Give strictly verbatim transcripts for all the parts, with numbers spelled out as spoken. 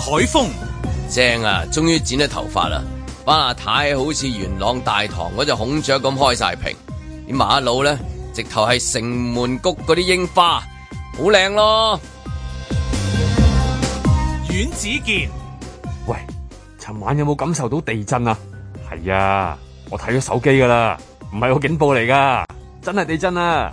海風正啊，終於剪咗頭髮啦！班阿太好似元朗大堂嗰隻孔雀咁開晒屏，啲馬路咧直頭係城門谷嗰啲櫻花，好靚咯！ 阮子健， 喂，尋晚有冇感受到地震啊？係啊，我睇咗手機噶啦，唔係個警報嚟噶，真係地震啊！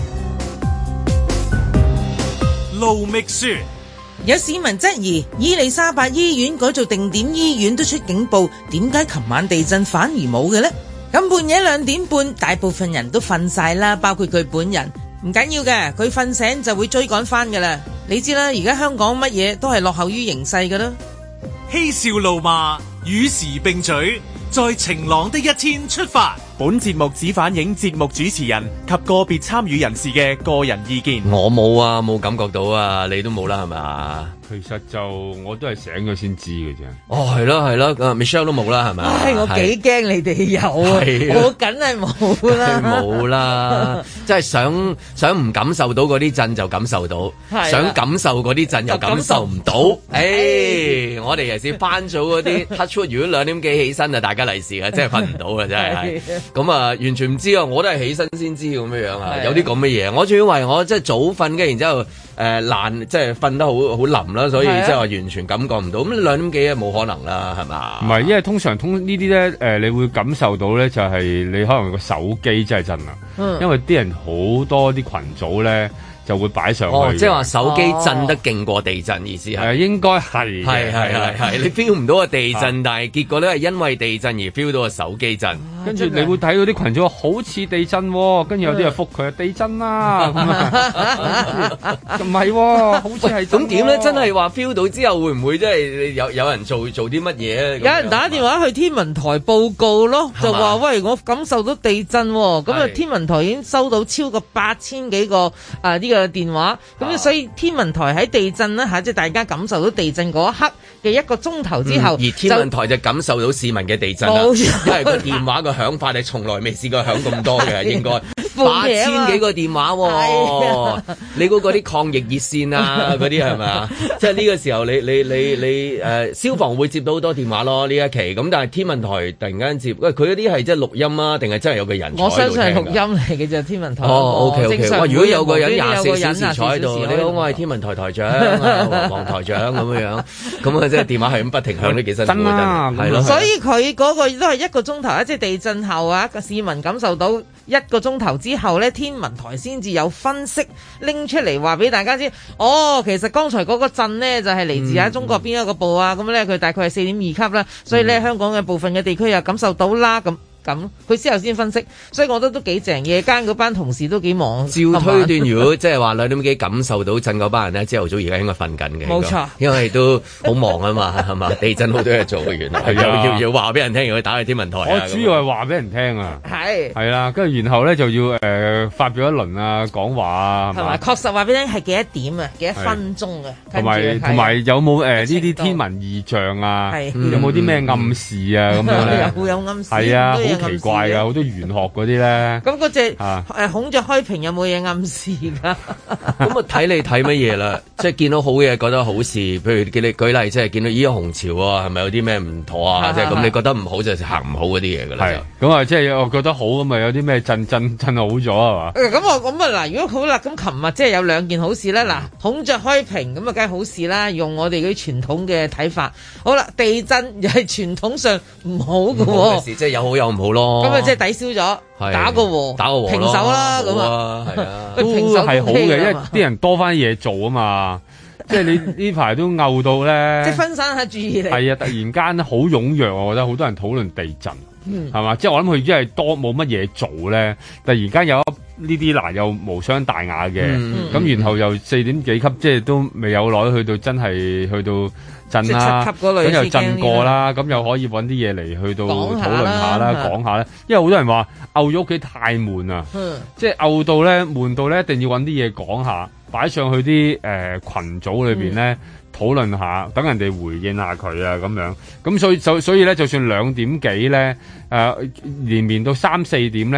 盧覓雪， 有市民質疑伊利沙伯醫院改做定點醫院都出警報，點解琴晚地震反而冇嘅呢？咁半夜兩點半，大部分人都瞓晒啦，包括佢本人。唔緊要嘅，佢瞓醒就會追趕翻噶啦。你知啦，而家香港乜嘢都係落後於形勢噶啦。 嬉笑怒罵，與時並舉，在晴朗的一天出發。 本節目只反映節目主持人及個別參與人士嘅個人意見。 我冇啊，冇感覺到啊，你都冇啦，係咪？ 其實就我都係醒咗先知嘅啫。 哦，係咯係咯，Michelle 都冇啦，係咪？ 唉，我幾驚你哋有啊，我梗係冇啦， 冇啦，即係想想唔感受到嗰啲震就感受到，想感受嗰啲震又感受唔到。誒，我哋尤其是翻早嗰啲 touch wood，如果兩點幾起身啊，大家利是啊，真係瞓唔到啊，真係。咁啊，完全唔知啊，我都係起身先知咁樣樣啊，有啲咁嘅嘢。我仲以為我即係早瞓嘅，然之後誒爛，即係瞓得好好冧啦，所以即係話完全感覺唔到。咁兩點幾啊，冇可能啦，係嘛？ 唔係，因為通常通呢啲咧，誒，你會感受到咧，就係你可能個手機真係震啦，嗯、因為啲人好多啲群組咧。就會擺上去。哦， 即係話手機震得勁過地震，意思係？ 係應該係。 係係係係，你 feel 唔到個地震，但係結果咧係因為地震而 feel 到個手機震。 跟住你會睇到啲群組好似地震喎，跟住有啲人覆佢地震啦，咁啊，唔係喎，好似係。 咁點咧？真係話 feel 到之後會唔會即係有有人做做啲乜嘢？ 有人打電話去天文台報告咯，就話喂，我感受到地震喎，咁啊天文台已經收到超過八千幾個啊呢個嘅電話，咁、啊、所以天文台喺地震咧嚇，即係大家感受到地震嗰一刻嘅一個鐘頭之後、 嗯，而天文台就感受到市民嘅地震啦，因為個電話個響法你從來未試過響咁多嘅，應該八千幾個電話喎、哦，你估嗰啲抗疫熱線啊嗰啲係咪啊？即係呢個時候你你你你誒、呃、消防會接到好多電話咯呢一期，咁但係天文台突然間接，喂佢嗰啲係即係錄音啊，定係真係有個人？ 我相信係錄音嚟嘅啫，天文台。 哦 OK OK，哇！如果有個人廿四小時坐喺度，你好，我係天文台台長啊，黃台長咁樣樣，咁啊即係電話係咁不停響，都幾辛苦啊，係咯。 所以佢嗰個都係一個鐘頭啊，即係地震後啊，個市民感受到一個鐘頭之後咧，天文台先至有分析拎出嚟話俾大家知。哦，其實剛才嗰個震呢，就係嚟自喺中國邊一個部啊，咁咧佢大概係四點二級啦，所以咧香港嘅部分嘅地區又感受到啦咁。咁佢之後先分析，所以我覺得都幾正。夜間嗰班同事都幾忙。 照推斷，如果即係話兩點幾感受到震嗰班人咧，朝頭早而家應該瞓緊嘅。 冇錯， 因為都好忙啊嘛，係嘛？地震好多嘢做嘅，原來係要要要話俾人聽，要打去天文台。 我主要係話俾人聽啊， 係係啦，跟住然後咧就要誒、呃、發表一輪啊講話啊， 係咪？確實話俾你聽係幾多點啊？幾多分鐘啊？ 同埋同埋有冇誒呢啲天文異象啊？ 嗯、 有冇啲咩暗示啊？咁、嗯、樣咧有有暗示。 係啊，好奇怪㗎。好多玄學嗰啲咧， 咁嗰隻誒孔雀開屏有冇嘢暗示㗎？ 咁啊睇你睇乜嘢啦，即係見到好嘢覺得好事，譬如叫你舉例，即係見到咦紅潮啊，係咪有啲咩唔妥啊？即係咁你覺得唔好就行唔好嗰啲嘢㗎啦。係咁啊，即係我覺得好咁啊，有啲咩震震震好咗係嘛？咁我咁啊嗱，如果好啦，咁琴日即係有兩件好事啦。嗱，孔雀開屏咁啊，梗係好事啦。用我哋嗰啲傳統嘅睇法，好啦，地震又係傳統上唔好嘅喎。 即係有好有唔好咯。 咁啊，即係抵消咗，打個和， 打個和， 平手啦，咁啊，係啊，都係好嘅，因為啲人多翻嘢做啊嘛，即係你呢排都拗到咧， 即係分散下注意力。 係啊，突然間好踴躍，我覺得好多人討論地震，係嘛，即係我諗佢真係多冇乜嘢做咧，突然間有呢啲嗱又無傷大雅嘅，咁然後又四點幾級，即係都未有耐去到真係去到。震啦，咁又震過啦，咁又可以揾啲嘢嚟去到討論下啦，講下咧。因為好多人話漚咗屋企太悶啊，即係漚到咧悶到咧，一定要揾啲嘢講下，擺上去啲誒、呃、群組裏邊咧討論下，等人哋回應下佢啊咁樣。咁所以就所以咧，就算兩點幾咧，誒、呃、連綿到三四點咧，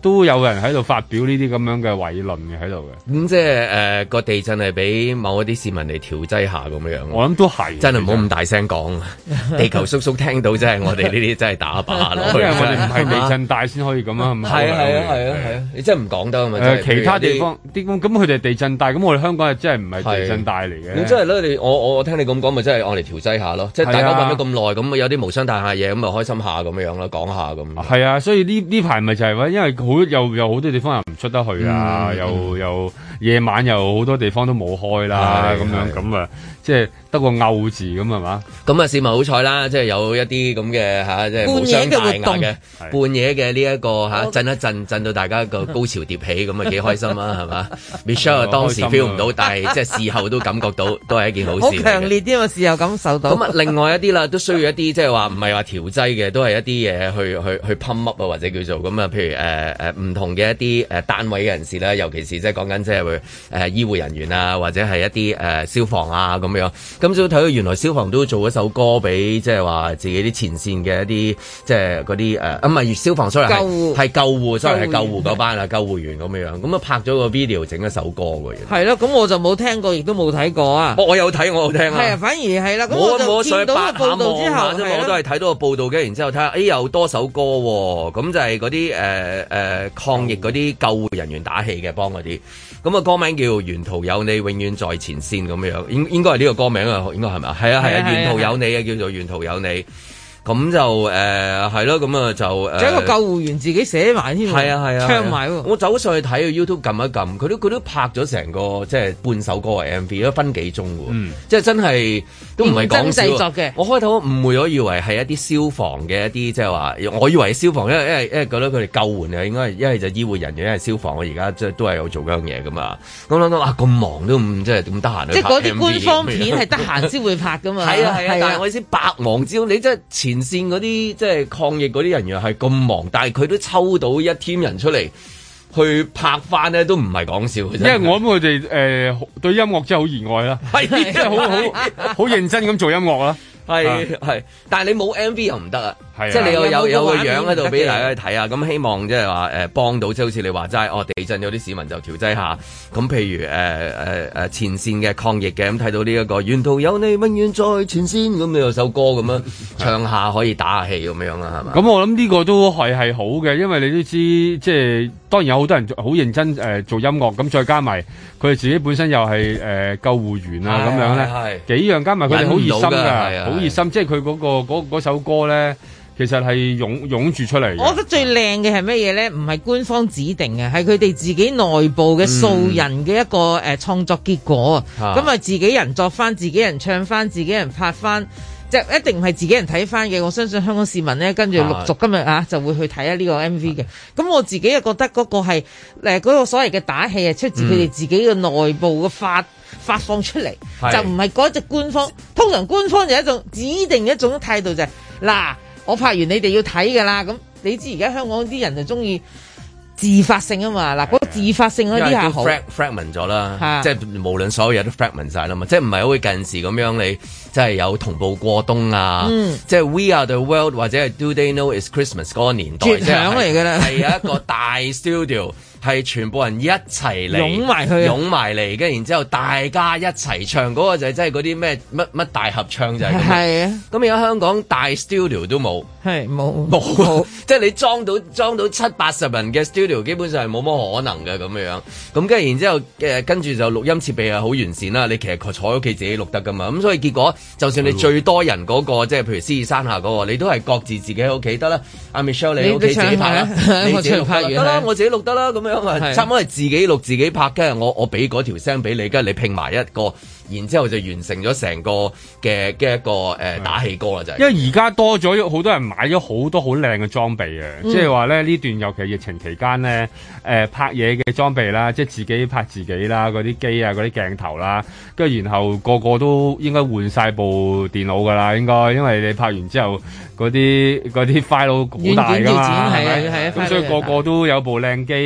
都有人喺度發表呢啲咁樣嘅偉論嘅喺度嘅。 咁即係誒個地震係俾某一啲市民嚟調劑下咁樣。 我諗都係， 真係唔好咁大聲講。地球叔叔聽到真係我哋呢啲真係打靶咯。 因為我哋唔係地震帶先可以咁啊。係啊係啊係啊係啊！你真係唔講得啊嘛。 誒其他地方啲咁咁佢哋地震帶，咁我哋香港係真係唔係地震帶嚟嘅。 咁真係咧，你我我聽你咁講，咪真係我嚟調劑下咯。即係大家揾咗咁耐，咁有啲無傷大雅嘢，咁咪開心下咁樣咯，講下咁。 係啊，所以呢呢排咪就係話，因為好又有好多地方又唔出得去啊，嗯、又又夜晚又好多地方都冇開啦，咁樣咁啊，即係得個拗字咁係嘛？咁啊，市民好彩啦，即係有一啲咁嘅嚇，即係無傷大雅嘅半夜嘅呢一個嚇震一震，震到大家個高潮迭起，咁啊幾開心啊，係嘛？Michelle 當時 feel 唔到，但係即係事後都感覺到，都係一件好事。好強烈啲啊！事後感受到。咁啊，另外一啲啦，都需要一啲即係話唔係話調劑嘅，都係一啲嘢去去去 pump up 啊，或者叫做咁啊，譬如誒誒唔同嘅一啲誒單位嘅人士啦，尤其是即係講緊即係會誒醫護人員啊，或者係一啲誒、呃、消防啊咁樣。咁就睇到原來消防都做一首歌俾即係話自己啲前線嘅一啲即係嗰啲誒啊唔係消防 sorry 係係救護 sorry 係救護嗰班啊救護員咁樣。咁啊拍咗個 video 整一首歌嘅。係咯，咁我就冇聽過，亦都冇睇過啊。 我有睇，我有聽啊。 係啊，反而係啦。咁我就見到個報道之後， 我都係睇到個報道嘅，然之後睇下，誒又多首歌喎。咁就係嗰啲誒誒抗疫嗰啲救護人員打氣嘅，幫嗰啲。咁啊歌名叫《沿途有你，永遠在前線》咁樣，應應該係呢個歌名啊，應該係咪啊？係啊係啊，沿途有你啊，叫做沿途有你。咁就誒係咯，咁啊就誒， 仲有一個救護員自己寫埋添， 係啊係啊， 唱埋喎。 我走上去睇個 YouTube 撳一撳，佢都佢都拍咗成個即係半首歌嘅 M V，都分幾鐘喎，嗯、即係真係都唔係講笑。認真製作嘅。我開頭誤會咗，以為係一啲消防嘅一啲即係話，我以為係消防，因為因為因為覺得佢哋救援啊，應該係一係就醫護人員，一係消防。我而家即係都係有做嗰樣嘢噶嘛。咁諗到啊，咁忙都唔即係咁得閒去拍 M V。即係嗰啲官方片係得閒先會拍噶嘛。係啊係啊，但係我意思百忙之中，你即係前線嗰啲。即係抗疫嗰啲人員係咁忙，但係佢都抽到一 team 人出嚟去拍翻咧，都唔係講笑。因為我諗佢哋誒對音樂真係好熱愛啦，係即係好好好認真咁做音樂啦。 係係，但係你冇 M V 又唔得啊！即係你有有有個樣喺度俾大家去睇啊！咁希望即係話誒幫到，即係好似你話齋，哦地震有啲市民就調劑下。咁譬如誒誒誒前線嘅抗疫嘅，咁睇到呢一個沿途有你，永遠在前線，咁你有首歌咁樣唱下，可以打下氣咁樣啦，係嘛？ 咁我諗呢個都係係好嘅，因為你都知即係當然有好多人好認真誒做音樂，咁再加埋佢哋自己本身又係誒救護員啊咁樣咧，幾樣加埋佢哋好熱心㗎，好熱心，即係佢嗰個嗰嗰首歌咧。其實係湧湧住出嚟。 我覺得最靚嘅係乜嘢咧？唔係官方指定嘅，係佢哋自己內部嘅素人嘅一個誒創作結果啊！咁啊，自己人作翻，自己人唱翻，自己人拍翻，即係一定唔係自己人睇翻嘅。我相信香港市民咧，跟住陸續今日啊就會去睇下呢個 M V 嘅。咁我自己又覺得嗰個係誒嗰個所謂嘅打氣係出自佢哋自己嘅內部嘅發發放出嚟，就唔係嗰隻官方。通常官方就一種指定一種態度就係嗱。我拍完你哋要睇㗎啦，咁你知而家香港啲人就中意自發性啊嘛，嗱嗰個自發性嗰啲係好 fragment 咗啦，即係無論所有嘢都 fragment 晒啦嘛，即係唔係好似近時咁樣你即係有同步過冬啊，嗯、即係 We Are the World 或者係 Do They Know It's Christmas 嗰個年代， 絕響嚟㗎啦， 係有一個大 studio。係全部人一齊嚟， 湧埋去， 湧埋嚟，跟然之後大家一齊唱，嗰、那個就係真係嗰啲咩乜乜大合唱就係咁。係啊，咁而家香港大 studio 都冇，係冇冇，即係你裝到裝到七八十人嘅 studio，基本上係冇乜可能嘅咁樣。咁跟住然之後誒，跟住就錄音設備係好完善啦。你其實坐喺屋企自己錄得噶嘛。咁所以結果，就算你最多人嗰、那個，即係譬如獅子山下嗰、那個，你都係各自自己喺屋企得啦。阿 Michelle 你屋企自己拍啦，你自己錄得啦，我自己錄得啦，咁樣。差唔多係自己錄自己拍，跟住我我俾嗰條聲俾你，跟住你拼埋一個，然之後就完成咗成個嘅嘅一個誒、呃、打氣歌啦，就係。因為而家多咗好多人買咗好多好靚嘅裝備嘅，嗯、即係話咧呢段尤其疫情期間咧，誒、呃、拍嘢嘅裝備啦，即係自己拍自己啦，嗰啲機啊，嗰啲鏡頭啦，跟住然後個個都應該換晒部電腦㗎啦，應該，因為你拍完之後嗰啲嗰啲 file 好大㗎嘛，係咪？咁所以個個都有部靚機。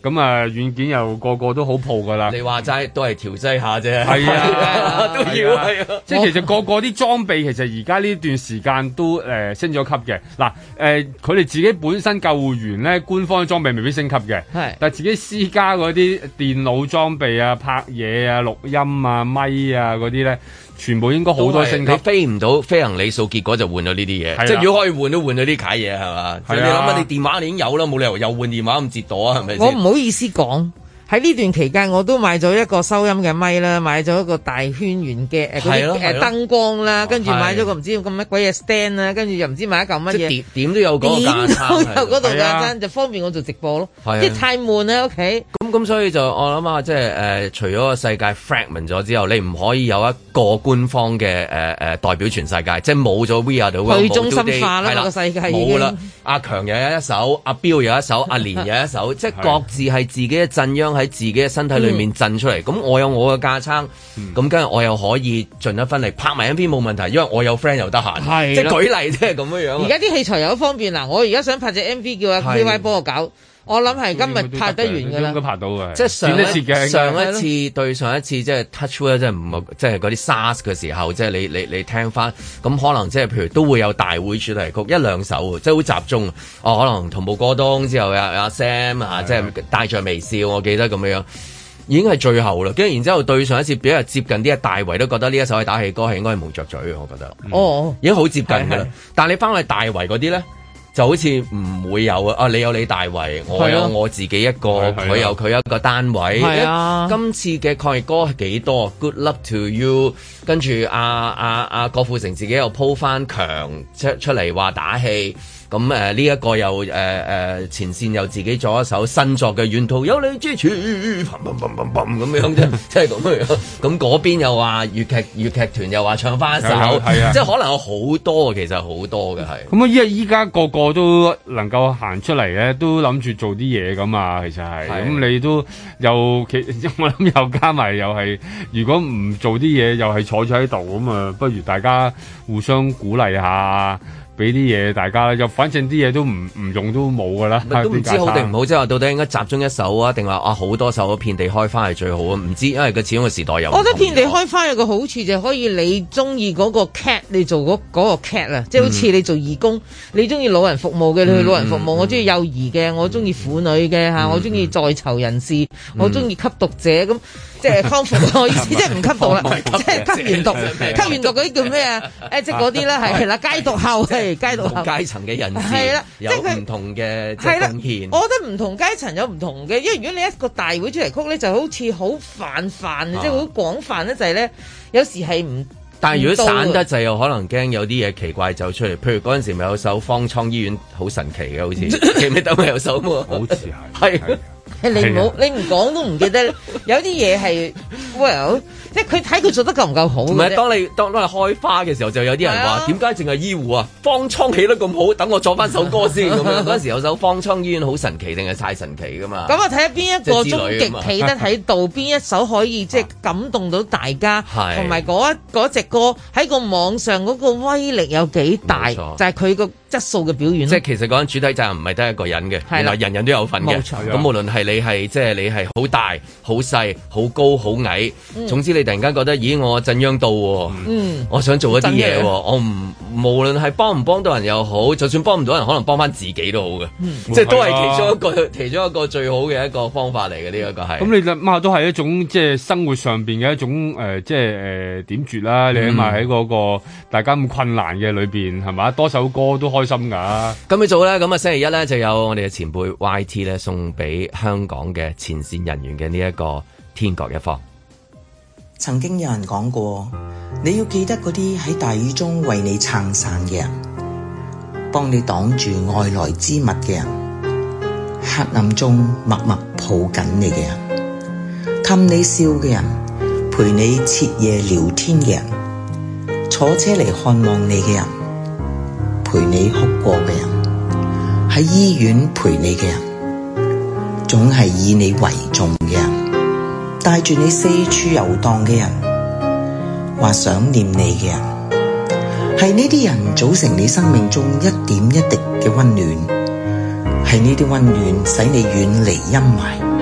咁啊軟件又個個都好鋪噶啦。 你話齋都係調劑下啫， 係啊， 都要係啊。 即係其實個個啲裝備其實而家呢段時間都誒、呃、升咗級嘅。嗱誒，佢哋自己本身救護員咧，官方裝備未必升級嘅，係，但係自己私家嗰啲電腦裝備啊、拍嘢啊、錄音啊、咪啊嗰啲咧。全部應該好多升級，你飛唔到飛行里數，結果就換咗呢啲嘢。即係如果可以換都換咗啲啓嘢係嘛？你諗下，你電話你已經有啦，冇理由又換電話咁折墮啊？係咪先？ 我唔好意思講。喺呢段期間，我都買咗一個收音嘅咪啦，買咗一個大圈圓嘅誒嗰啲誒燈光啦，跟住買咗個唔知咁乜鬼嘢 stand 啦，跟住又唔知買一嚿乜嘢。 點點都有嗰個架撐， 點都有嗰度架撐，就方便我做直播咯。即係太悶啦屋企。 咁咁所以就我諗下，即係誒，除咗個世界 fragment 咗之後，你唔可以有一個官方嘅誒誒代表全世界，即係冇咗 We Are The World， 去中心化啦個世界已經。 冇啦，阿強又有一首，阿彪有一首，阿連有一首，即係各自係自己嘅震央喺自己嘅身體裏面震出嚟，咁、嗯、我有我嘅架撐，咁跟住我又可以盡一分力拍埋 M V 冇問題，因為我有 friend 又得閒，即係舉例即係咁樣樣。 而家啲器材又好方便嗱，我而家想拍隻 M V 叫阿 K Y 幫我搞，我諗係今日拍得完㗎啦， 應該拍到嘅。 即係上一上一次對上一次即係 touch wood 即係唔係即係嗰啲 SARS 嘅時候，即係你你你聽翻，咁可能即係譬如都會有大會主題曲一兩首，即係好集中。哦，可能同步過冬之後有阿 Sam 啊，即係帶着微笑，我記得咁樣。已經係最後啦，跟住然之後對上一次比較接近啲，大圍都覺得呢一首係打氣歌係應該係無着嘴嘅，我覺得。哦、嗯，已經好接近㗎啦。但係你翻去大圍嗰啲咧，就好似唔會有啊！啊，你有你大圍，我有我自己一個，佢有佢一個單位。係啊，今次嘅抗疫歌係幾多 ？Good luck to you。跟住阿阿阿郭富城自己又鋪翻強出出嚟話打氣。咁誒呢一個又誒誒、呃、前線又自己做一首新作嘅沿途有你支持，砰砰砰砰砰咁樣啫，即係咁樣。咁嗰邊又話粵劇粵劇團又話唱翻一首，即係可能有好多，其實好多嘅係。 咁啊，因為依家個個都能夠行出嚟咧，都諗住做啲嘢咁啊，其實係。咁你都又其我諗又加埋又係，如果唔做啲嘢又係坐咗喺度咁啊，不如大家互相鼓勵下。俾啲嘢大家，又反正啲嘢都唔唔用都冇噶啦， 都唔知好定唔好，即係話到底應該集中一首啊，定話啊好多首遍地開花係最好啊？唔知，因為佢始終個時代有。 我覺得遍地開花有個好處就係可以你中意嗰個 cat，你做嗰嗰個 cat 啊，即係好似你做義工，嗯、你中意老人服務嘅，你去老人服務；嗯、我中意幼兒嘅，我中意婦女嘅嚇，嗯、我中意在囚人士，嗯、我中意吸毒者咁。即係康復，我意思即係唔吸毒啦，即係吸完毒，吸完毒嗰啲叫咩啊？誒，即係嗰啲啦，係啦，戒毒後係戒毒後階層嘅人士係啦， 有唔同嘅即係貢獻。 我覺得唔同階層有唔同嘅，因為如果你一個大會主題曲咧，就好似好泛泛，即係好廣泛咧，就係咧，有時係唔。 但係如果散得滯，又可能驚有啲嘢奇怪走出嚟。譬如嗰陣時咪有首方艙醫院好神奇嘅，好似記唔記得咪有首喎？ 好似係係。 你唔好，你唔講都唔記得。有啲嘢係，well，即係佢睇佢做得夠唔夠好。唔係， 當你當當你開花嘅時候，就有啲人話：點解淨係醫護啊？方艙起得咁好，等我作翻首歌先咁樣。嗰陣時有首方艙醫院好神奇定係太神奇噶嘛？ 咁啊，睇下邊一個終極企得喺度，邊一首可以即係感動到大家，同埋嗰一嗰隻歌喺個網上嗰個威力有幾大，就係佢個質素嘅表現。即係其實講緊主體責任唔係得一個人嘅，原來人人都有份嘅。咁無論係你係即係你係好大、好細、好高、好矮，嗯、總之你突然間覺得，咦，我震央到喎，嗯、我想做一啲嘢喎，我唔無論係幫唔幫到人又好，就算幫唔到人，可能幫翻自己都好嘅，嗯、即係都係其中一個、其中一個最好嘅一個方法嚟嘅呢一個係。 咁你諗下都係一種即係生活上邊嘅一種誒、呃，即係誒、呃、點綴啦。你起碼喺嗰個大家咁困難嘅裏邊係嘛，多首歌都開心㗎。 咁你做咧，咁啊星期一咧就有我哋嘅前輩 Y T 咧送俾香港嘅前線人員嘅呢一個天各一方。 曾經有人講過，你要記得嗰啲喺大雨中為你撐傘嘅人，幫你擋住外來之物嘅人，黑暗中默默抱緊你嘅人，氹你笑嘅人，陪你徹夜聊天嘅人，坐車嚟看望你嘅人，陪你哭過嘅人，喺醫院陪你嘅人，總係以你為重嘅人，帶住你四處遊蕩嘅人，或想念你嘅人，係呢啲人組成你生命中一點一滴嘅溫暖，係呢啲溫暖使你遠離陰霾，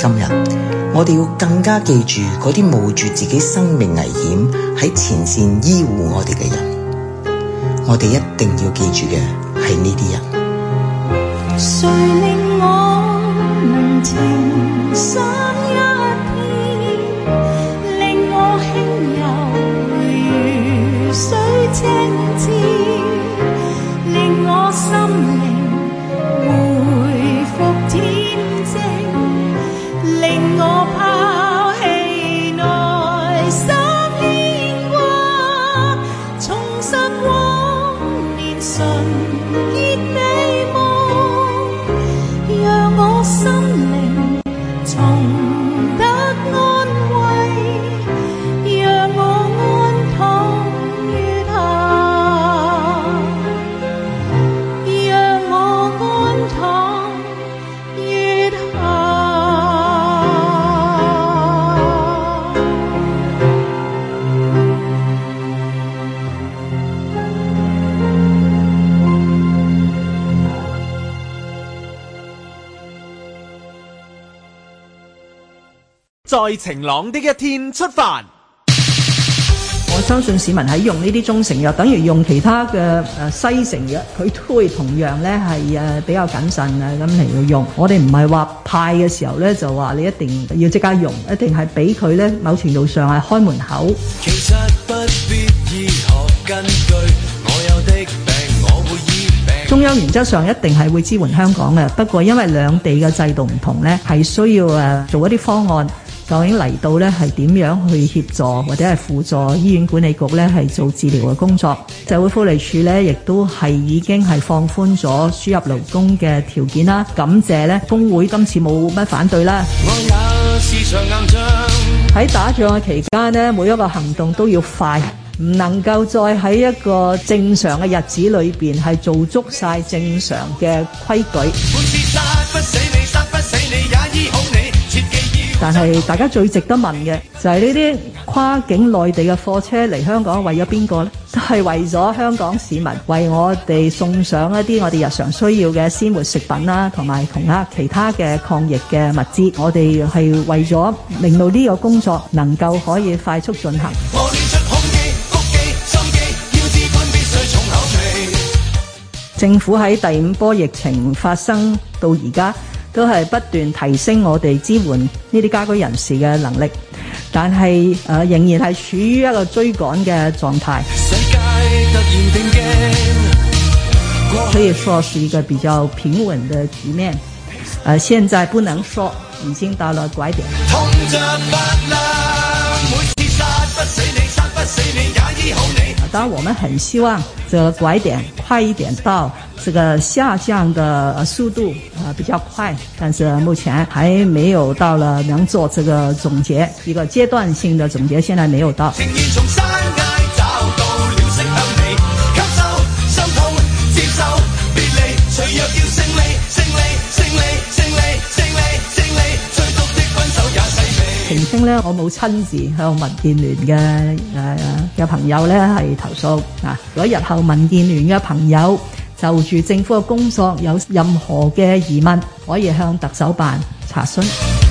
今日，我哋要更加記住嗰啲冒住自己生命危險喺前線醫護我哋嘅人。我哋一定要記住嘅係呢啲人。 誰令我能情深一片，令我輕柔如水清澈，令我心靈回復恬靜，令我拋棄內心牽掛，重拾往年純潔美夢，讓我心靈重得安慰，讓我安躺月下，讓我安躺月下。 在晴朗的一天出發。 我相信市民喺用呢啲中成藥，等於用其他嘅誒西成藥，佢都會同樣咧係誒比較謹慎啊咁嚟到用。我哋唔係話派嘅時候咧就話你一定要即刻用，一定係俾佢咧某程度上係開門口。其實不必醫學根據，我有的病我會醫病。中央原則上一定係會支援香港嘅，不過因為兩地嘅制度唔同咧，係需要誒做一啲方案。究竟嚟到咧係點樣去協助或者係輔助醫院管理局咧係做治療嘅工作？社會福利署咧亦都係已經係放寬咗輸入勞工嘅條件啦。感謝咧工會今次冇乜反對啦。喺打仗嘅期間呢，每一個行動都要快，唔能夠再喺一個正常嘅日子裏邊係做足晒正常嘅規矩。但係大家最值得問嘅就係呢啲跨境內地嘅貨車嚟香港為咗邊個呢？都係為咗香港市民，為我哋送上一啲我哋日常需要嘅鮮活食品啦，同埋同啊其他嘅抗疫嘅物資。我哋係為咗令到呢個工作能夠可以快速進行。政府喺第五波疫情發生到而家，都係不斷提升我哋支援呢啲家居人士嘅能力，但係誒、呃、仍然係處於一個追趕嘅狀態。可以說是一個比較平穩的局面。誒、呃，現在不能說已經到了拐點。當然我們很希望這個拐點快一點到，這個下降的速度啊比較快，但是目前還沒有到了能做這個總結，一個階段性的總結現在沒有到。澄清咧，我冇親自向民建聯嘅誒嘅朋友咧係投訴啊！如果日後民建聯嘅朋友就住政府嘅工作有任何嘅疑問，可以向特首辦查詢。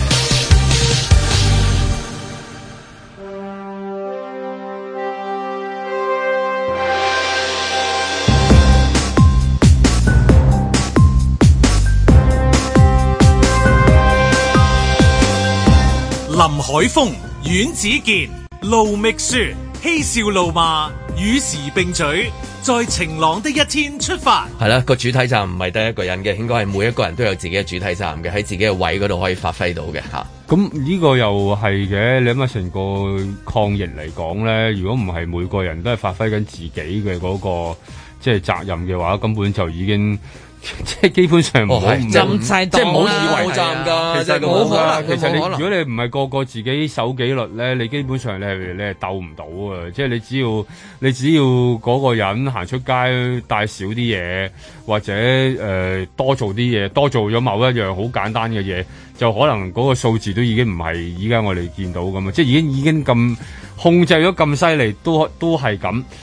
林海峰、阮子健、盧覓雪，嬉笑怒罵，與時並舉，在晴朗的一天出發。 係啦，個主體站唔係得一個人嘅，應該係每一個人都有自己嘅主體站嘅，喺自己嘅位嗰度可以發揮到嘅吓。 咁呢個又係嘅，你諗下成個抗疫嚟講咧，如果唔係每個人都係發揮緊自己嘅嗰個即係責任嘅話，根本就已經。即係基本上唔好， 即係唔好以為站㗎， 其實冇可能。其實你可能如果你唔係個個自己守紀律咧，你基本上你係你係鬥唔到啊！即係你只要你只要嗰個人行出街帶少啲嘢，或者誒、呃、多做啲嘢，多做咗某一樣好簡單嘅嘢，就可能嗰個數字都已經唔係依家我哋見到咁啊！即係已經已經咁控制咗咁犀利，都都係咁。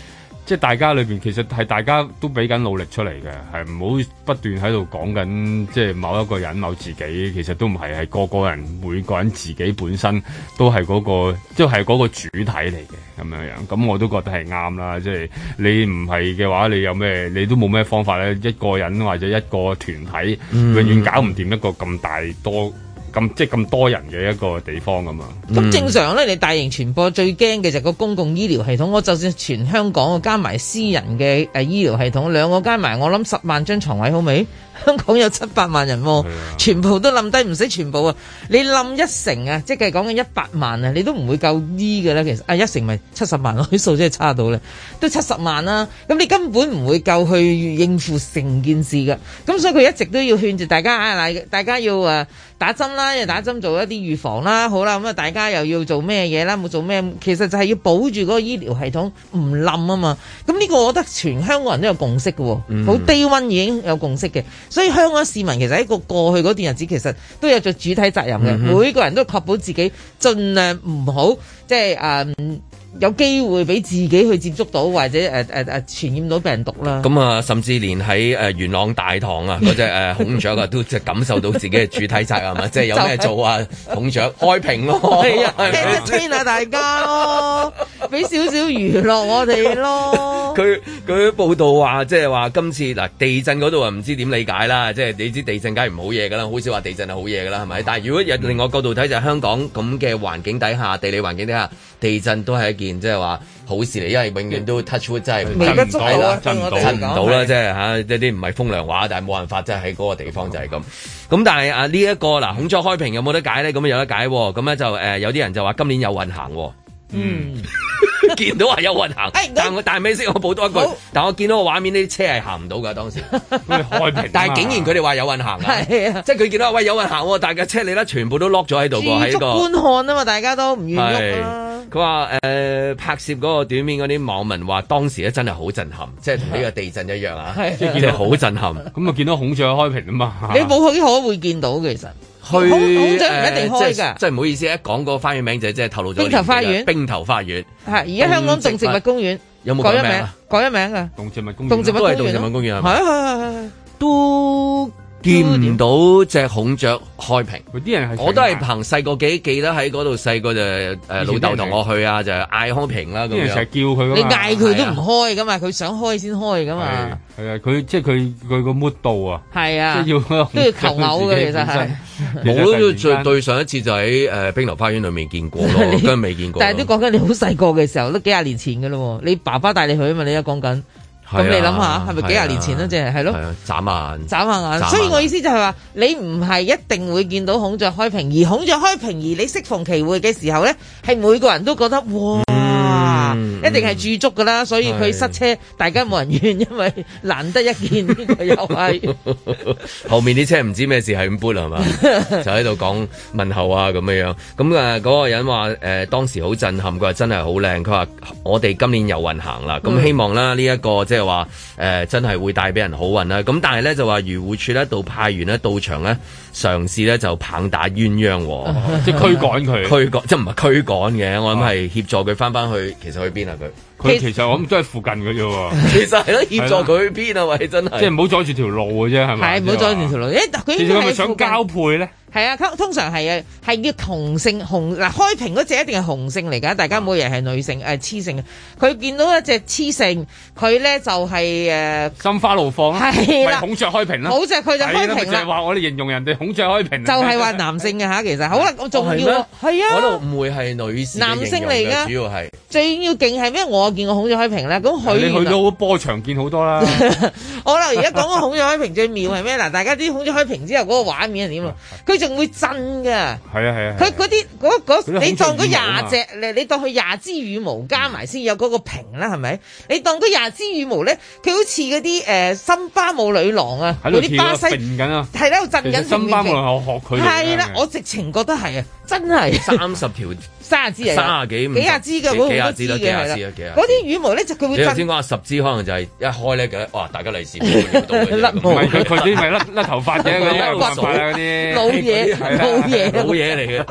即係大家裏邊其實係大家都俾緊努力出嚟嘅，係唔好不斷喺度講緊即係某一個人某自己，其實都唔係，係個個人每個人自己本身都係嗰個即係嗰個主體嚟嘅咁樣樣。咁我都覺得係啱啦，即係你唔係嘅話，你有咩你都冇咩方法咧？一個人或者一個團體、嗯、永遠搞唔掂一個咁大多。咁即係咁多人嘅一個地方咁嘛。 咁、嗯、正常咧，你大型傳播最驚嘅就係個公共醫療系統。我就算全香港加埋私人嘅誒醫療系統，兩個加埋，我諗十萬張床位好未？香港有七百萬人喎，全部都冧低，唔使全部啊！你冧一成啊，即係講緊一百萬啊，你都唔會夠醫嘅啦。其實啊，一成咪七十萬咯，啲數真係差到咧，都七十萬啦。咁你根本唔會夠去應付成件事㗎。咁所以佢一直都要勸住大家啊，嗱，大家要誒打針啦，要打針做一啲預防啦。好啦，咁啊，大家又要做咩嘢啦？冇做咩？其實就係要保住嗰個醫療系統唔冧啊嘛。咁呢個我覺得全香港人都有共識嘅喎，好、嗯、day one 已經有共識嘅。所以香港市民其實喺個過去嗰段日子，其實都有做主體責任嘅、嗯。每個人都確保自己盡量唔好，即係誒、呃、有機會俾自己去接觸到或者誒誒誒傳染到病毒啦。咁啊，甚至連喺誒元朗大堂啊嗰隻誒孔雀啊，都即係感受到自己嘅主體責任啊！即係有咩做啊？孔雀開屏咯，係啊，聽一聽下大家咯，俾少少娛樂我哋咯。佢佢報道話，即係話今次嗱地震嗰度啊，唔知點理解啦。即係你知地震梗係唔好嘢㗎啦，好少話地震係好嘢㗎啦，係咪？但係如果有另外角度睇，就係香港咁嘅環境底下，地理環境底下，地震都係一件即係話好事嚟，因為永遠都 touch wood 真係微不足道，震唔到， 震唔到啦，即係嚇一啲唔係風涼話，但係冇辦法，即係喺嗰個地方就係咁。咁但係啊呢一個嗱孔雀開屏有冇得解咧？咁有得解喎。咁咧就誒有啲人就話今年有運行喎。嗯。見到話有運行，哎、但我但係咩先？我補多一句，但我見到個畫面，呢啲車係行唔到㗎當時。開屏，但係竟然佢哋話有運行啊！係啊，即係佢見到喂有運行喎，但係架車你咧全部都 lock 咗喺度喎，喺、這個觀看啊嘛，大家都唔願喐啦。佢話誒拍攝嗰個短片嗰啲網民話當時咧真係好震撼，即係同呢個地震一樣啊！即係見到好震撼，咁啊見到孔雀開屏啊嘛。你冇去可會見到嘅其實。去孔雀唔一定開㗎，即係唔好意思，一講個花園名就即係透露咗。冰頭花園，冰頭花園係而家香港動植物公園有冇改咗名？改咗名㗎，動植物公園，動植物公園都係動植物公園係咪？係係係係都。見唔到隻孔雀開屏，啲人係我都係憑細個記記得喺嗰度細個就誒老豆同我去啊，就嗌開屏啦咁樣。成日叫佢，你嗌佢都唔開噶嘛，佢想開先開噶嘛。係啊，佢即係佢佢個 mood 度啊。係啊，即係要都要求偶嘅其實係。我都最對上一次就喺誒冰流花園裏面見過咯，跟住未見過。但係都講緊你好細個嘅時候，都幾廿年前噶咯。你爸爸帶你去啊嘛，你而家講緊。咁、啊、你諗下，係咪幾廿年前啦？即係係咯，眨眼，眨下眼。所以我意思就係話，你唔係一定會見到孔雀開屏，而孔雀開屏，而你適逢其會嘅時候咧，係每個人都覺得哇！嗯、一定係駐足噶啦，所以佢塞車，大家冇人怨，因為難得一見呢個又係後面啲車唔知咩事係咁搬係嘛，就喺度講問候啊咁樣樣。咁啊嗰個人話誒、呃、當時好震撼，佢話真係好靚。佢話我哋今年有運行啦，咁、嗯、希望啦呢一個即係話誒真係會帶俾人好運啦。咁但係咧就話漁護署咧到派員咧到場咧嘗試咧就棒打鴛鴦，即係驅趕佢，驅趕即係唔係驅趕嘅，我諗係協助佢翻翻去。其實去邊啊佢？佢其實我諗都係附近嘅啫喎。其實係咯，協助佢去邊啊？喂，真係即係唔好阻住條路嘅啫，係咪？係唔好阻住條路。誒，佢其實係咪想交配咧？係啊，通常係啊，係叫同性雄嗱開屏嗰隻一定係雄性嚟㗎，大家冇人係女性誒雌性嘅。佢見到一隻雌性，佢咧就係誒心花怒放啦，係啦，孔雀開屏啦，好隻佢就開屏啦。就係話我哋形容人哋孔雀開屏，就係話男性嘅嚇，其實好啦，我仲要係啊，嗰度唔會係女士男性嚟㗎，主要係最要勁係咩？我見過孔雀開屏咧，咁佢你去到波場見好多啦。我啦，而家講個孔雀開屏最妙係咩？嗱，大家知孔雀開屏之後嗰個畫面係點啊？佢仲會震㗎，係啊係啊！佢嗰啲嗰嗰你當嗰廿隻，你你當佢廿支羽毛加埋先有嗰個屏啦，係咪？你當嗰廿支羽毛咧，佢好似嗰啲誒森巴舞女郎啊，嗰啲巴西揈緊啊，係喺度震緊。森巴舞我學佢係啦，我直情覺得係啊，真係三十條。三十支嚟，三十幾、幾廿支嘅，幾廿支啦，幾廿支啊，幾廿。嗰啲羽毛咧就佢會。你頭先講話十支，可能就係一開咧嘅，哇！大家利是唔甩毛，唔係佢佢啲咪甩甩頭髮嘅嗰啲，冇辦法啦嗰啲。老嘢，老嘢，老嘢嚟嘅。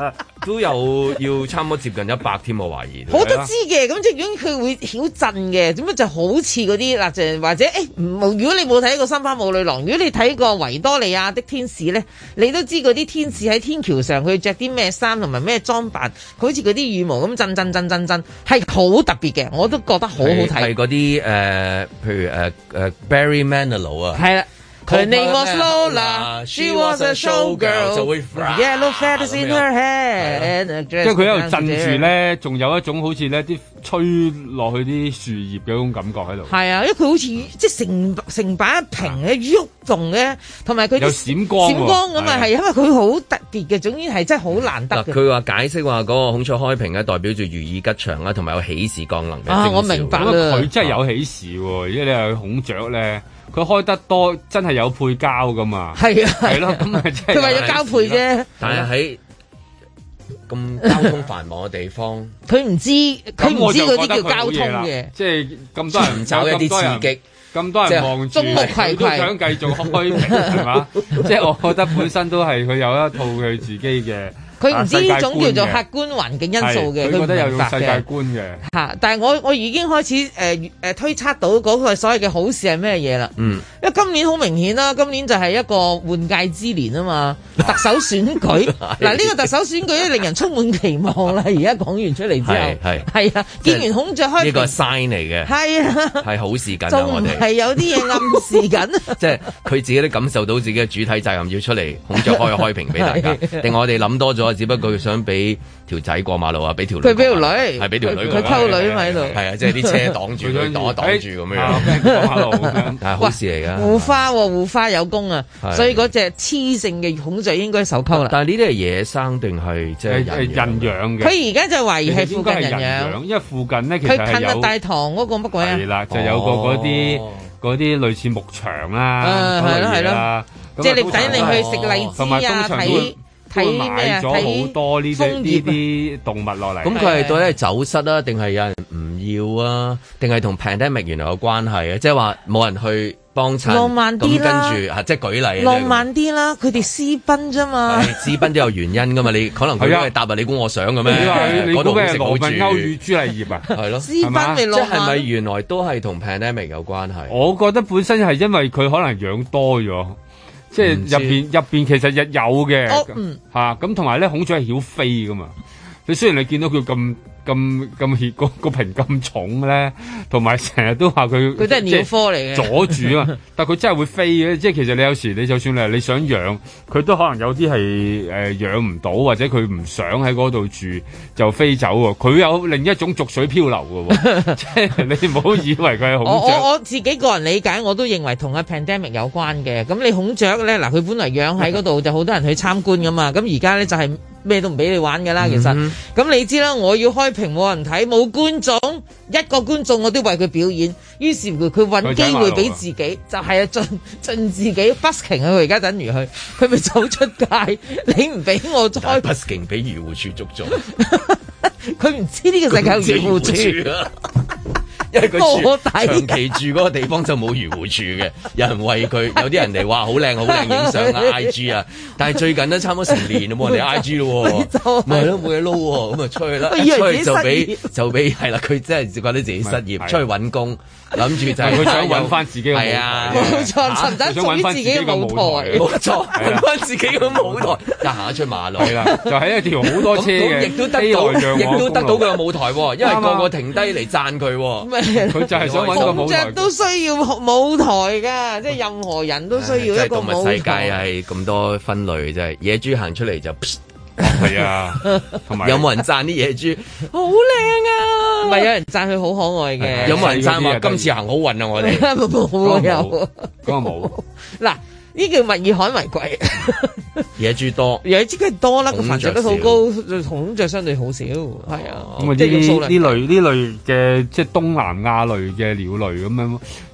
都有要差唔多接近一百添，我懷疑。 我都知嘅，咁即係如果佢會曉震嘅，點解就好似嗰啲嗱，就或者誒，唔、欸，如果你冇睇過《心花舞女郎》，如果你睇過《維多利亞的天使》咧，你都知嗰啲天使喺天橋上佢着啲咩衫同埋咩裝扮，佢好似嗰啲羽毛咁震震震震震，係好特別嘅，我都覺得好好睇。係嗰啲誒，譬如誒誒、uh, uh, Barry Manilow 啊， 係啦。Her name was Lola, she was a showgirl, 就會 yellow feathers in her hair。 即係佢喺度震住咧，仲有一種好似咧啲吹落去啲樹葉嘅嗰種感覺喺度。 係啊，因為佢好似即係成成把屏嘅喐動嘅，同埋佢有閃光閃光咁啊，係因為佢好特別嘅，總之係真係好難得嘅。 佢話解釋話嗰個孔雀開屏咧，代表住如意吉祥啦，同埋有喜事降臨嘅徵兆。 啊，我明白啦。 佢真係有喜事喎，因為你係孔雀咧。佢開得多，真係有配膠噶嘛？係啊，係咯，咁咪即係佢為咗交配啫。 但係喺咁交通繁忙嘅地方， 佢唔知佢唔知嗰啲叫交通嘅， 即係咁多人找一啲刺激， 咁多人望住，佢都想繼續開屏係嘛？即係我覺得本身都係佢有一套佢自己嘅。 佢唔知呢種叫做客觀環境因素嘅，佢覺得有種世界觀嘅。 嚇！但係我我已經開始誒誒、呃、推測到嗰個所謂嘅好事係咩嘢啦。嗯，因為今年好明顯啦，今年就係一個換屆之年啊嘛，特首選舉嗱呢個特首選舉咧令人充滿期望啦。而家講完出嚟之後，係係啊，見完孔雀開呢個 sign 嚟嘅，係啊，係好事緊啊！我哋係有啲嘢暗示緊， 即係佢自己都感受到自己嘅主體責任要出嚟，孔雀開開屏俾大家，定我哋諗多咗。只不過佢想俾條仔過馬路啊，俾條女佢俾條女係俾條女佢溝女喺度， 係啊，即係啲車擋住佢，擋一擋住咁樣過馬路咁樣，係好事嚟㗎。 護花護花有功啊，所以嗰隻雌性嘅孔雀應該受溝啦。 但係呢啲係野生定係即係人養嘅？ 佢而家就懷疑係附近人養， 因為附近咧其實係有近大堂嗰個乜鬼啊？ 係啦，就有個嗰啲嗰啲類似牧場啦， 係咯係咯，即係你等你去食荔枝啊睇。 睇買咗好多呢啲呢啲動物落嚟， 咁佢係到底係走失啊，定係有人唔要啊，定係同 pandemic 原來有關係啊？即係話冇人去幫襯， 浪漫啲啦， 跟住即係舉例， 浪漫啲啦，佢哋私奔啫嘛， 私奔都有原因噶嘛，你可能佢都係答啊，你估我想嘅咩？ 嗰度咩羅密歐與朱麗葉啊？ 係咯， 私奔咪浪漫， 即係咪原來都係同 pandemic 有關係？ 我覺得本身係因為佢可能養多咗。即係入邊入邊其實日有嘅嚇，咁同埋咧孔雀係曉飛噶嘛。你雖然你見到佢咁咁咁熱個個屏咁重咧，同埋成日都話佢佢真係鳥科嚟嘅阻住啊！但係佢真係會飛嘅，即係其實你有時你就算你你想養，佢都可能有啲係誒養唔到，或者佢唔想喺嗰度住就飛走喎。佢有另一種逐水漂流嘅喎，即係你唔好以為佢係孔雀。 我我我自己個人理解，我都認為同阿 pandemic 有關嘅。咁你孔雀咧嗱，佢本來養喺嗰度就好多人去參觀噶嘛。咁而家咧就係、是。咩都唔俾你玩㗎啦，其實咁、嗯、哼你知啦，我要開屏冇人睇，冇觀眾，一個觀眾我都為佢表演，於是乎佢揾機會俾自己，就係啊盡盡自己 busking 啊！佢而家等於佢，佢咪走出街，你唔俾我開 busking 俾漁護署捉咗， 佢唔知呢個世界有漁護署啊。 因為佢住長期住嗰個地方就冇漁護署嘅，有人餵佢，有啲人嚟話好靚好靚影相啊 I G 啊，但係最近都差唔多成年都冇人嚟 I G 咯，咪係咯冇嘢撈喎，咁啊出去啦，出去就俾就俾係啦，佢真係覺得自己失業，出去揾工，諗住就係佢想揾翻自己嘅舞台， 冇錯，尋找屬於自己嘅舞台， 冇錯，揾翻自己嘅舞台，就行出馬路啦，就喺一條好多車嘅， 亦都得到，亦都得到佢嘅舞台喎，因為個個停低嚟讚佢。 佢就係想揾個舞台， 孔雀都需要舞台㗎，即係任何人都需要一個舞台。 動物世界係咁多分類，真係野豬行出嚟就係啊，同埋有冇人讚啲野豬好靚啊？ 唔係有人讚佢好可愛嘅， 有冇人讚話今次行好運啊？我哋冇有嗰個冇嗱。呢叫物以罕為貴， 野豬多， 野豬梗係多啦，個繁殖率好高，孔雀相對好少，係啊。 咁啊呢呢類呢類嘅即係東南亞類嘅鳥類咁樣，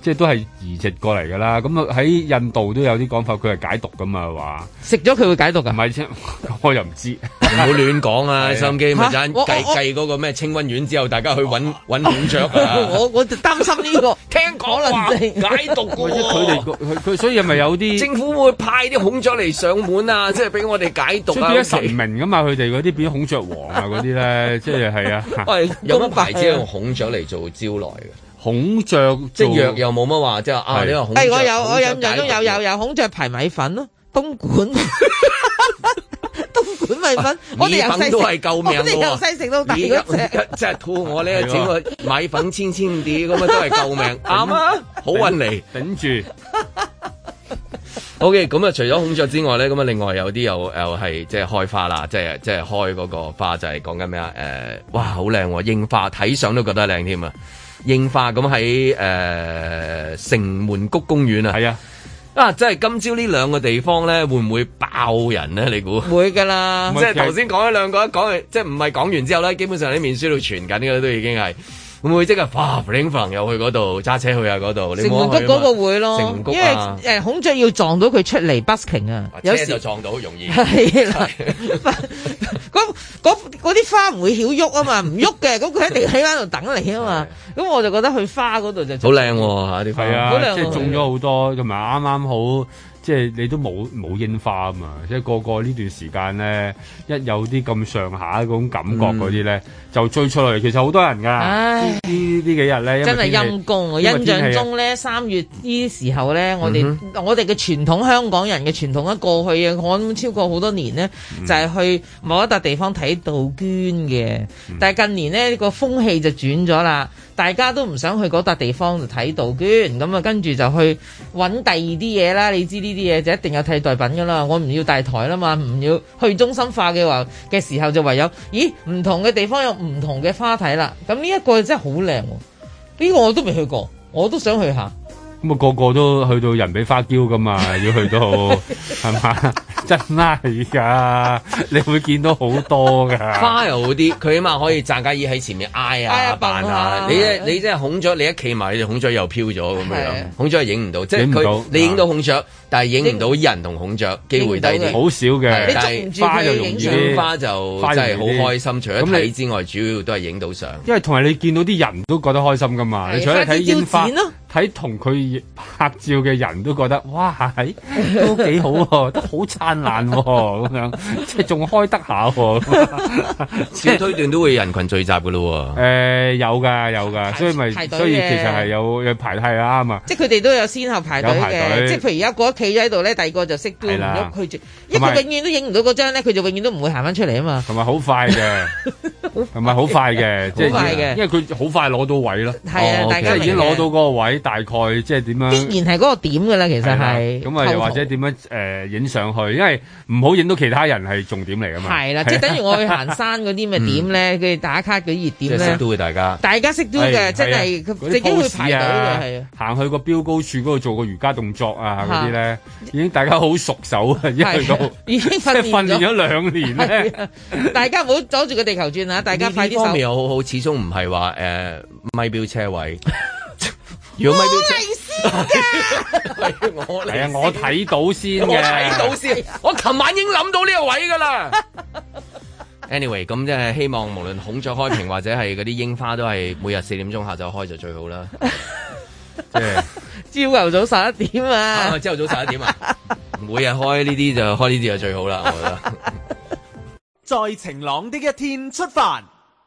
即係都係移植過嚟㗎啦。咁啊喺印度都有啲講法，佢係解毒㗎嘛話。 食咗佢會解毒㗎？ 唔係啫，我又唔知。 唔好亂講啊！收音機咪陣計計嗰個咩清瘟丸之後，大家去揾揾孔雀啊！ 我我就擔心呢個， 聽講話解毒㗎喎。 佢哋佢佢所以係咪有啲政府會派啲孔雀嚟上門啊？即係俾我哋解毒啊！ 所以變咗神明㗎嘛，佢哋嗰啲變咗孔雀王啊嗰啲咧，即係係啊。 喂，有乜牌子用孔雀嚟做招來嘅？ 孔雀即係藥又冇乜話，即係啊呢個孔雀。 係我有我印象中有有有孔雀排米粉咯，東莞。東莞米粉，我哋由細都係救命， 我哋由細食到大嗰隻， 即係肚我咧整個米粉千千啲咁啊，都係救命，啱啊，好運嚟頂住。 OK，咁啊，除咗孔雀之外咧，咁啊，另外有啲又又係即係開花啦，即係即係開嗰個花就係講緊咩啊？誒、呃，哇，好靚喎，櫻花睇相都覺得靚添啊！櫻花咁喺誒城門谷公園啊，係啊。啊！即係今朝呢兩個地方咧，會唔會爆人咧？你估會㗎啦！ 即係頭先講咗兩個，一講完即係唔係講完之後咧，基本上啲面書度傳緊嘅都已經係會唔會即係嘩，fling fling 又去嗰度揸車去啊嗰度？ 城門谷嗰個會咯， 城門谷啊、 因為誒孔雀要撞到佢出嚟 busking 啊，有時車就撞到容易。 係啦，嗰嗰啲花唔會曉喐啊嘛，唔喐嘅，咁佢一定喺翻度等你啊嘛。咁我就覺得去花嗰度就好靚喎嚇啲花， 係啊， 好靚即係種咗好多，同埋啱啱好。即係你都冇冇櫻花啊嘛！即係個個呢段時間咧，一有啲咁上下嗰種感覺嗰啲咧，就追出嚟。其實好多人㗎，呢呢幾日咧， 真係陰公。我印象中咧，三月呢啲時候咧，我哋、嗯、我哋嘅傳統香港人嘅傳統一過去啊，我諗超過好多年咧，嗯、就係去某一笪地方睇杜鵑嘅。嗯、但係近年咧，呢個風氣就轉咗啦。大家都唔想去嗰笪地方度睇杜鵑，咁啊跟住就去揾第二啲嘢啦。你知呢啲嘢就一定有替代品噶啦。我唔要大台啦嘛，唔要去中心化嘅話嘅時候就唯有，咦唔同嘅地方有唔同嘅花睇啦。咁呢一個真係好靚，呢個我都未去過，我都想去下。 咁啊個個都去到人比花嬌噶嘛，要去到係嘛？真係㗎，你會見到好多㗎。 花又好啲，佢起碼可以站架椅喺前面挨啊扮下。你你即係孔雀，你一企埋，你孔雀又飄咗咁樣。孔雀係影唔到，即係佢你影到孔雀，但係影唔到人同孔雀，機會低啲。 好少嘅， 但係花就容易，花就真係好開心。除咗睇之外，主要都係影到相。因為同埋你見到啲人都覺得開心㗎嘛。你除咗睇櫻花，睇同佢拍照嘅人都覺得哇，係都幾好喎，都好燦爛喎，咁樣即係仲開得下喎。 小推斷都會人群聚集㗎咯喎。 誒有㗎有㗎，所以咪所以其實係有有排係啱啊。 即係佢哋都有先後排隊嘅，即係譬如而家個企咗喺度咧，第二個就識都唔喐佢住，因為佢永遠都影唔到嗰張咧，佢就永遠都唔會行翻出嚟啊嘛。 同埋好快嘅，同埋好快嘅，即係因為佢好快攞到位咯。 係啊，大家已經攞到嗰個位。大概即係點樣？ 必然係嗰個點㗎啦，其實係。 咁啊，又或者點樣誒影上去？因為唔好影到其他人係重點嚟㗎嘛。 係啦，即係等於我去行山嗰啲咪點咧？佢哋打卡嗰啲熱點咧。 即係識到嘅大家。 大家識到嘅，真係自己會排隊嘅，係啊。 行去個標高處嗰度做個瑜伽動作啊，嗰啲咧已經大家好熟手啊，一去到已經訓練訓練咗兩年咧。 大家唔好阻住個地球轉啊！大家快啲手。 呢方面又好好，始終唔係話誒咪標車位。如果咪標車，我係啊，我睇到先嘅， 我睇到先，我琴晚已經諗到呢個位噶啦。Anyway， 咁即係希望無論孔雀開屏或者係嗰啲櫻花都係每日四點鐘下晝開就最好啦。即係朝頭早十一點啊， 朝頭早十一點啊，每日開呢啲就開呢啲就最好啦，我覺得。 在晴朗的一天出發。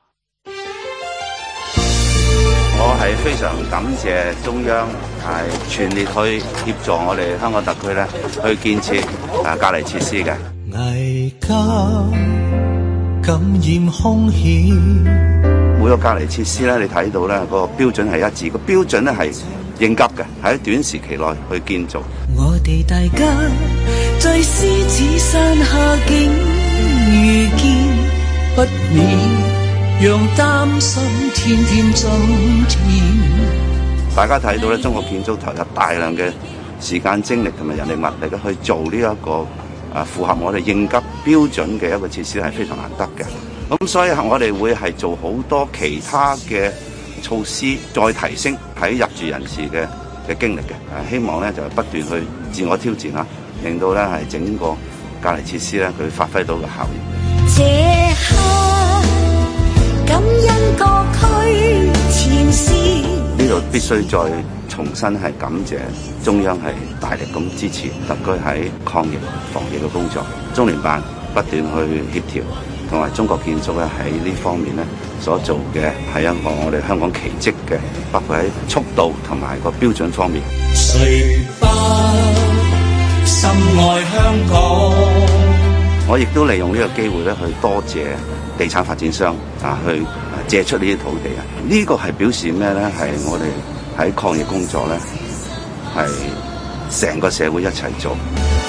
我係非常感謝中央係全力去協助我哋香港特區咧去建設啊隔離設施嘅。危急感染風險，每個隔離設施咧，你睇到咧個標準係一致，個標準咧係應急嘅，喺短時期內去建造。我哋大家在獅子山下竟遇見不免。讓擔心天天增添。大家睇到咧，中國建築投入大量嘅時間、精力同埋人力物力咧，去做呢一個啊符合我哋應急標準嘅一個設施係非常難得嘅。咁所以我哋會係做好多其他嘅措施，再提升喺入住人士嘅嘅經歷嘅，誒希望咧就不斷去自我挑戰啦，令到咧係整個隔離設施咧佢發揮到個效應。這刻感恩各區前線，呢度必須再重新係感謝中央係大力咁支持特區喺抗疫防疫嘅工作，中聯辦不斷去協調，同埋中國建築咧喺呢方面咧所做嘅係一個我哋香港奇蹟嘅，包括喺速度同埋個標準方面。誰不深愛香港？我亦都利用呢個機會咧去多謝地產發展商啊，去借出呢啲土地啊，呢個係表示咩咧？係我哋喺抗疫工作咧，係成個社會一齊做。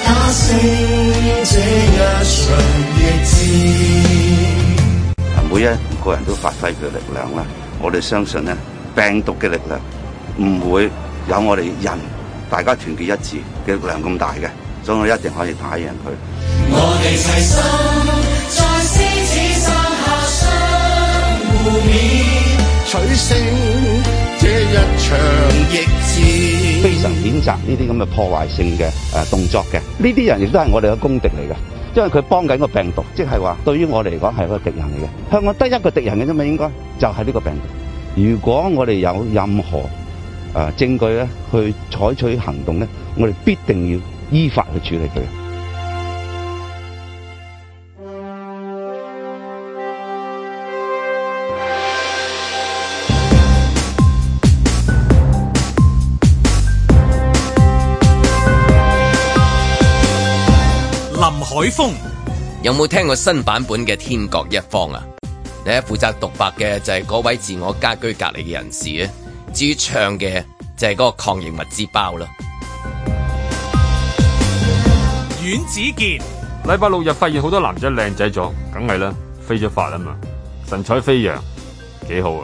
每一個人都發揮佢力量啦，我哋相信咧，病毒嘅力量唔會有我哋人大家團結一致嘅力量咁大嘅，所以我一定可以打贏佢。我哋齊心在獅子山下相互勉，取勝這一場疫戰。非常譴責呢啲咁嘅破壞性嘅誒動作嘅，呢啲人亦都係我哋嘅公敵嚟嘅，因為佢幫緊個病毒，即係話對於我哋嚟講係一個敵人嚟嘅。香港得一個敵人嘅啫嘛，應該就係呢個病毒。如果我哋有任何誒、呃、證據咧，去採取行動咧，我哋必定要依法去處理佢。 林海峰有冇聽過新版本嘅《天各一方》啊？你喺負責獨白嘅就係嗰位自我家居隔離嘅人士啊，至於唱嘅就係嗰個抗疫物資包啦。 阮子健禮拜六日發現好多男仔靚仔咗，梗係啦，飛咗髮啊嘛，神采飛揚，幾好啊！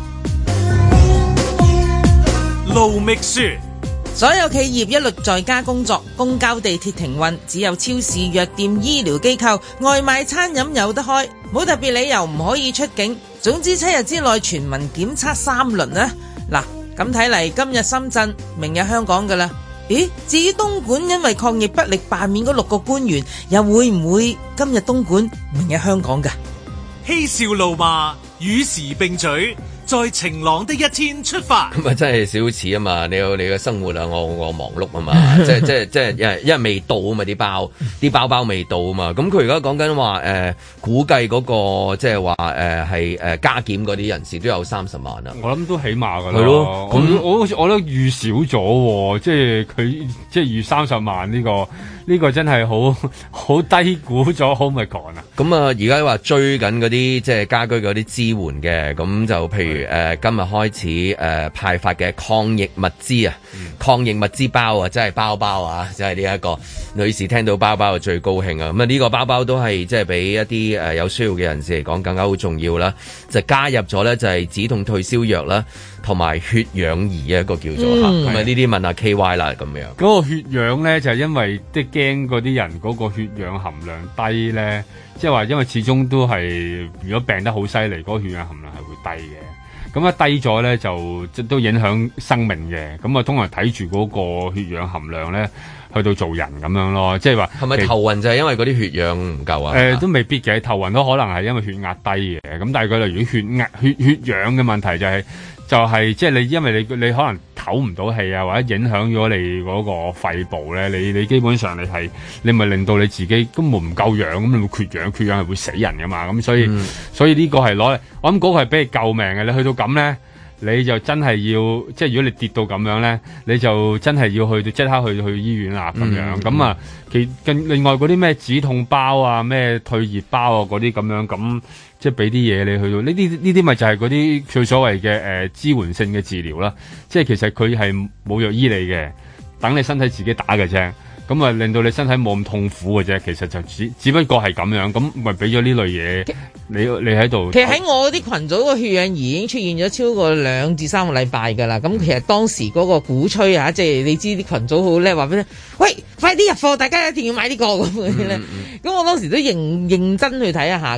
盧覓雪。 所有企業一律在家工作，公交地鐵停運，只有超市、藥店、醫療機構、外賣餐飲有得開，冇特別理由唔可以出境。總之七日之內全民檢測三輪啊！嗱，咁睇嚟今日深圳，明日香港噶啦。咦？至於東莞因為抗疫不力罷免嗰六個官員，又會唔會今日東莞，明日香港噶？ 嬉笑怒罵，與時並舉。在晴朗的一天出發， 咁啊真係少似啊嘛！你有你嘅生活啊，我我忙碌啊嘛，即係即係即係因為因為未到啊嘛，啲包啲包包未到啊嘛，咁佢而家講緊話誒，估計嗰、那個即係話誒係誒加檢嗰啲人士都有三十萬啊！ 我諗都起碼㗎啦， 係咯， 咁我我我都預少咗，即係佢即係預三十萬呢、這個呢、這個真係好好低估咗，好咪講啊！ 咁啊，而家話追緊嗰啲即係家居嗰啲支援嘅，咁就譬如誒、呃、今日開始誒、呃、派發嘅抗疫物資啊，嗯、抗疫物資包啊，真係包包啊，即係呢一個女士聽到包包就最高興啊！咁啊呢個包包都係即係俾一啲誒有需要嘅人士嚟講更加好重要啦，就加入咗咧就係止痛退燒藥啦，同埋血氧儀啊一個叫做嚇，咁啊呢啲問下 K Y 啦咁樣。 嗰個血氧咧就係、是、因為即係驚嗰啲人嗰個血氧含量低咧。即係話，因為始終都係，如果病得好犀利，嗰、那個血氧含量係會低嘅。咁一低咗咧，就即都影響生命嘅。咁啊，通常睇住嗰個血氧含量咧，去到做人咁樣咯。即係話， 係咪頭暈就係因為嗰啲血氧唔夠啊？誒、 呃，都未必嘅，頭暈都可能係因為血壓低嘅。咁但係佢例如血壓、血血氧嘅問題就係、是。就係即係你，因為你你可能唞唔到氣啊，或者影響咗你嗰個肺部咧，你你基本上你係你咪令到你自己根本唔夠氧，咁你會缺氧，缺氧係會死人噶嘛，咁所以、嗯、所以呢個係攞嚟，我諗嗰個係俾你救命嘅。你去到咁咧，你就真係要即係如果你跌到咁樣咧，你就真係要去到即刻去去醫院啦咁樣。咁、嗯、啊，其另另外嗰啲咩止痛包啊、咩退熱包啊嗰啲咁樣咁。即係俾啲嘢你去到呢啲呢啲咪就係嗰啲最所謂嘅誒、呃、支援性嘅治療啦。即係其實佢係冇藥醫你嘅，等你身體自己打嘅啫。咁啊令到你身體冇咁痛苦嘅啫。其實就只只不過係咁樣，咁咪俾咗呢類嘢你你喺度。 其實喺我啲群組個血氧儀已經出現咗超過兩至三個禮拜㗎啦。咁其實當時嗰個鼓吹啊，即係你知啲群組好叻，話俾你喂，快啲入貨，大家一定要買呢個咁嘅咧。咁我當時都認認真去睇一下嘅。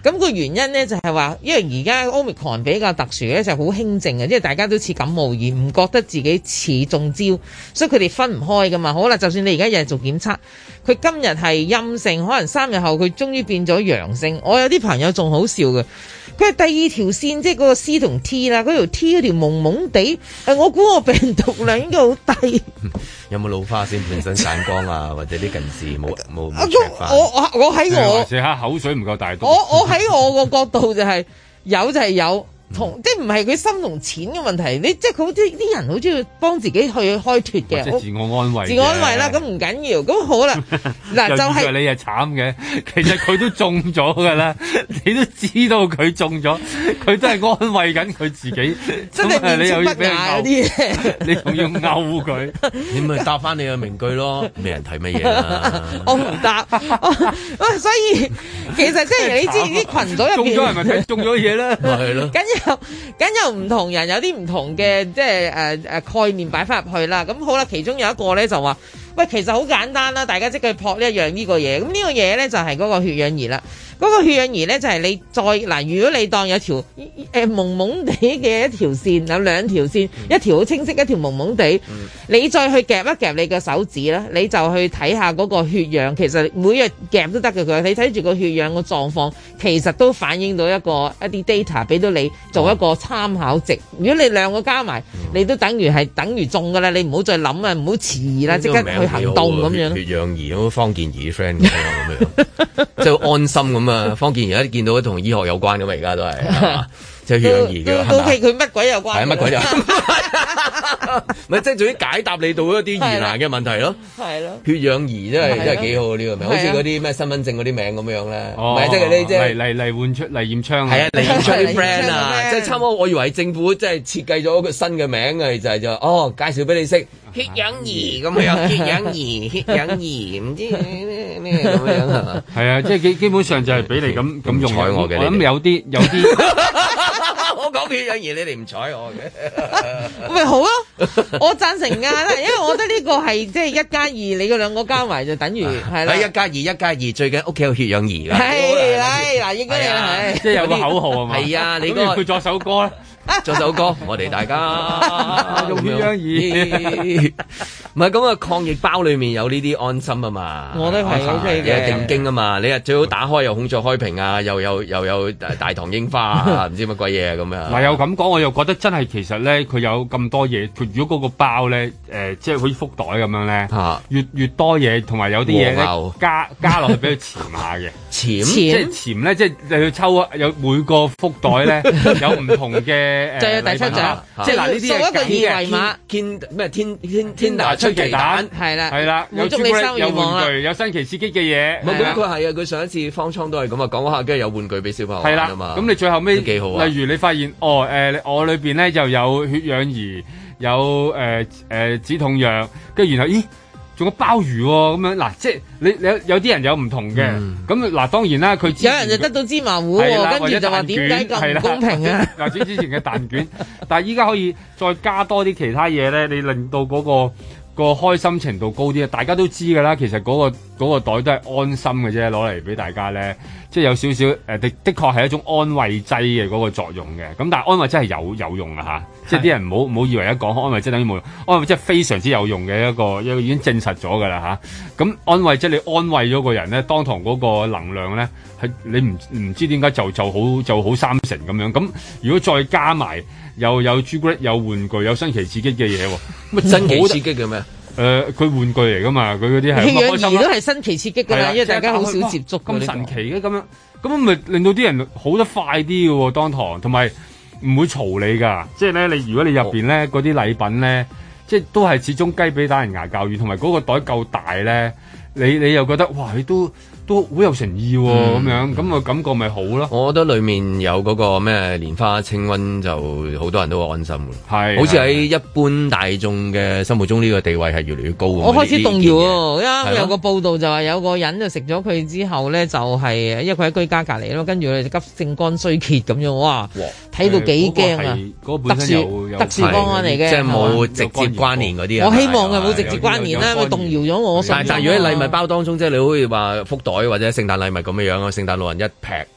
咁個原因咧就係話，因為而家 Omicron 比較特殊咧，就好輕症嘅，因為大家都似感冒而唔覺得自己似中招，所以佢哋分唔開噶嘛。好啦，就算你而家日日做檢測，佢今日係陰性，可能三日後佢終於變咗陽性。我有啲朋友仲好笑嘅。佢係第二條線，即係嗰個 C 同 T 啦，嗰條 T 嗰條蒙蒙地，誒，我估我病毒量應該好低。 有冇老花先？本身散光啊，或者啲近視冇冇冇我我我喺我食下口水唔夠大多。 我我喺我個角度就係、是、有就係有。同即係唔係佢心同錢嘅問題，你即係佢好啲啲人好中意幫自己去開脫嘅， 即係自我安慰。 自我安慰啦，咁唔緊要，咁好啦。嗱就係、是、 你係慘嘅，其實佢都中咗㗎啦，你都知道佢中咗，佢都係安慰緊佢自己。 真係面前不雅嗰啲嘢， 你仲要勾佢， 你咪答翻你嘅名句咯，咩人睇乜嘢啊？ 我唔答，所以其實即係你知啲群組入邊中咗係咪睇中咗嘢咧？ 咪係咯。 梗有唔同人有啲唔同嘅即係誒誒概念擺翻入去啦。咁好啦，其中有一個咧就話，喂，其實好簡單啦，大家即刻撲呢一樣呢個嘢。咁呢個嘢咧就係嗰個血氧儀啦。嗰、那個血氧儀咧就係你再嗱，如果你當有條誒、呃、蒙蒙地嘅一條線，有兩條線，一條好清晰，一條蒙蒙地，嗯、你再去夾一夾你嘅手指啦，你就去睇下嗰個血氧。其實每日夾都得嘅，佢你睇住個血氧個狀況，其實都反映到一個一啲 data 俾到你做一個參考值。如果你兩個加埋，你都等於係等於中㗎啦。你唔好再諗啊，唔好遲疑啦，即刻去行動咁樣。 血氧儀咁方健儀 friend 咁樣，即係安心咁啊！方健儀而家見到同醫學有關咁嘛，而家都係。即係血氧儀嘅， 都佢佢乜鬼有關？ 係乜鬼有？咪即係總之解答你到一啲疑難嘅問題咯。係咯，血氧儀真係真係幾好呢個名，好似嗰啲咩身份證嗰啲名咁樣咧。唔係即係你即係嚟嚟嚟換出嚟驗槍。係啊，嚟驗槍啲 friend 啊，即係差唔多。我以為政府即係設計咗一個新嘅名嘅，就係就哦介紹俾你識血氧儀咁樣，血氧儀、血氧儀唔知咩咩咁樣係嘛？係啊，即係基基本上就係俾你咁咁用我嘅。我諗有啲有啲。我講血氧儀，你哋唔睬我嘅， 咪好咯，我贊成㗎，因為我覺得呢個係即係一加二，你嗰兩個加埋就等於係啦。一加二，一加二，最緊屋企有血氧儀㗎。係係嗱，應該係即係有個口號係嘛？係啊，你嗰個佢作首歌啦。做首歌，我哋大家用血氧儀，唔係咁啊！抗疫包裏面有呢啲安心啊嘛，我都係 O K 嘅，定經啊嘛，你啊最好打開又孔雀開屏啊，又有又有大唐櫻花啊，唔知乜鬼嘢啊咁樣。 嗱，又咁講，我又覺得真係其實咧，佢有咁多嘢，佢如果嗰個包咧，誒、呃，即係好似福袋咁樣咧，啊、越越多嘢，同埋有啲嘢咧加加落去俾佢潛下嘅，潛即係潛咧，即係你去抽啊，有每個福袋咧有唔同嘅。 就有第七獎，即係嗱呢啲係一個二維碼， 天咩天天天大出奇蛋，係啦係啦，有朱古力有玩具，有新奇刺激嘅嘢。 咁佢係啊，佢上一次方艙都係咁啊，講下跟住有玩具俾小朋友玩啊嘛。咁你最後尾幾好啊？ 例如你發現哦誒，我裏邊咧就有血氧儀，有誒誒止痛藥，跟住然後咦？仲有鮑魚喎、哦，咁樣嗱，即係你你有有啲人有唔同嘅，咁嗱、嗯、當然啦，佢有人就得到芝麻糊、哦，跟住就話點解咁唔公平啊？ 或者之前嘅蛋卷，但係依家可以再加多啲其他嘢咧，你令到嗰、嗰個、嗰個開心程度高啲啊！大家都知㗎啦，其實嗰、嗰個嗰個袋都係安心嘅啫，攞嚟俾大家咧，即係有少少誒的的確係一種安慰劑嘅嗰個作用嘅。咁但係安慰劑係有有用啊嚇！即係啲人唔好唔好以為一講安慰劑等於冇用，安慰劑係非常之有用嘅一個一個已經證實咗㗎啦嚇。咁安慰劑你安慰咗個人咧，當堂嗰個能量咧係你唔唔知點解就就好就好三成咁樣。咁如果再加埋又有朱古力有玩具有新奇刺激嘅嘢喎， 乜新奇刺激嘅咩？ 誒，佢玩具嚟㗎嘛，佢嗰啲係血氧儀都係新奇刺激㗎啦，因為大家好少接觸咁神奇嘅咁樣，咁咪令到啲人好得快啲嘅喎，當堂同埋。唔會嘈你㗎，即係咧，你如果你入邊咧嗰啲禮品咧，即係都係始終雞髀打人牙較軟，同埋嗰個袋夠大咧，你你又覺得哇，你都都好有誠意喎、哦，咁、嗯、樣咁個感覺咪好咯。 我覺得裡面有嗰個咩蓮花清瘟，就好多人都好安心嘅，係好似喺一般大眾嘅心目中呢個地位係越嚟越高。 我開始動搖喎，因為有個報道就話有個人就食咗佢之後咧，就係、是、因為佢喺居家隔離咯，跟住佢就急性肝衰竭咁樣，哇！睇到幾驚啊！ 嗰個、特殊特殊方案嚟嘅， 即係冇直接關聯嗰啲啊！ 我希望係冇直接關聯啦，咪動搖咗我。 但係但係如果喺禮物包當中，即係你好似話福袋或者聖誕禮物咁樣樣啊，聖誕老人一劈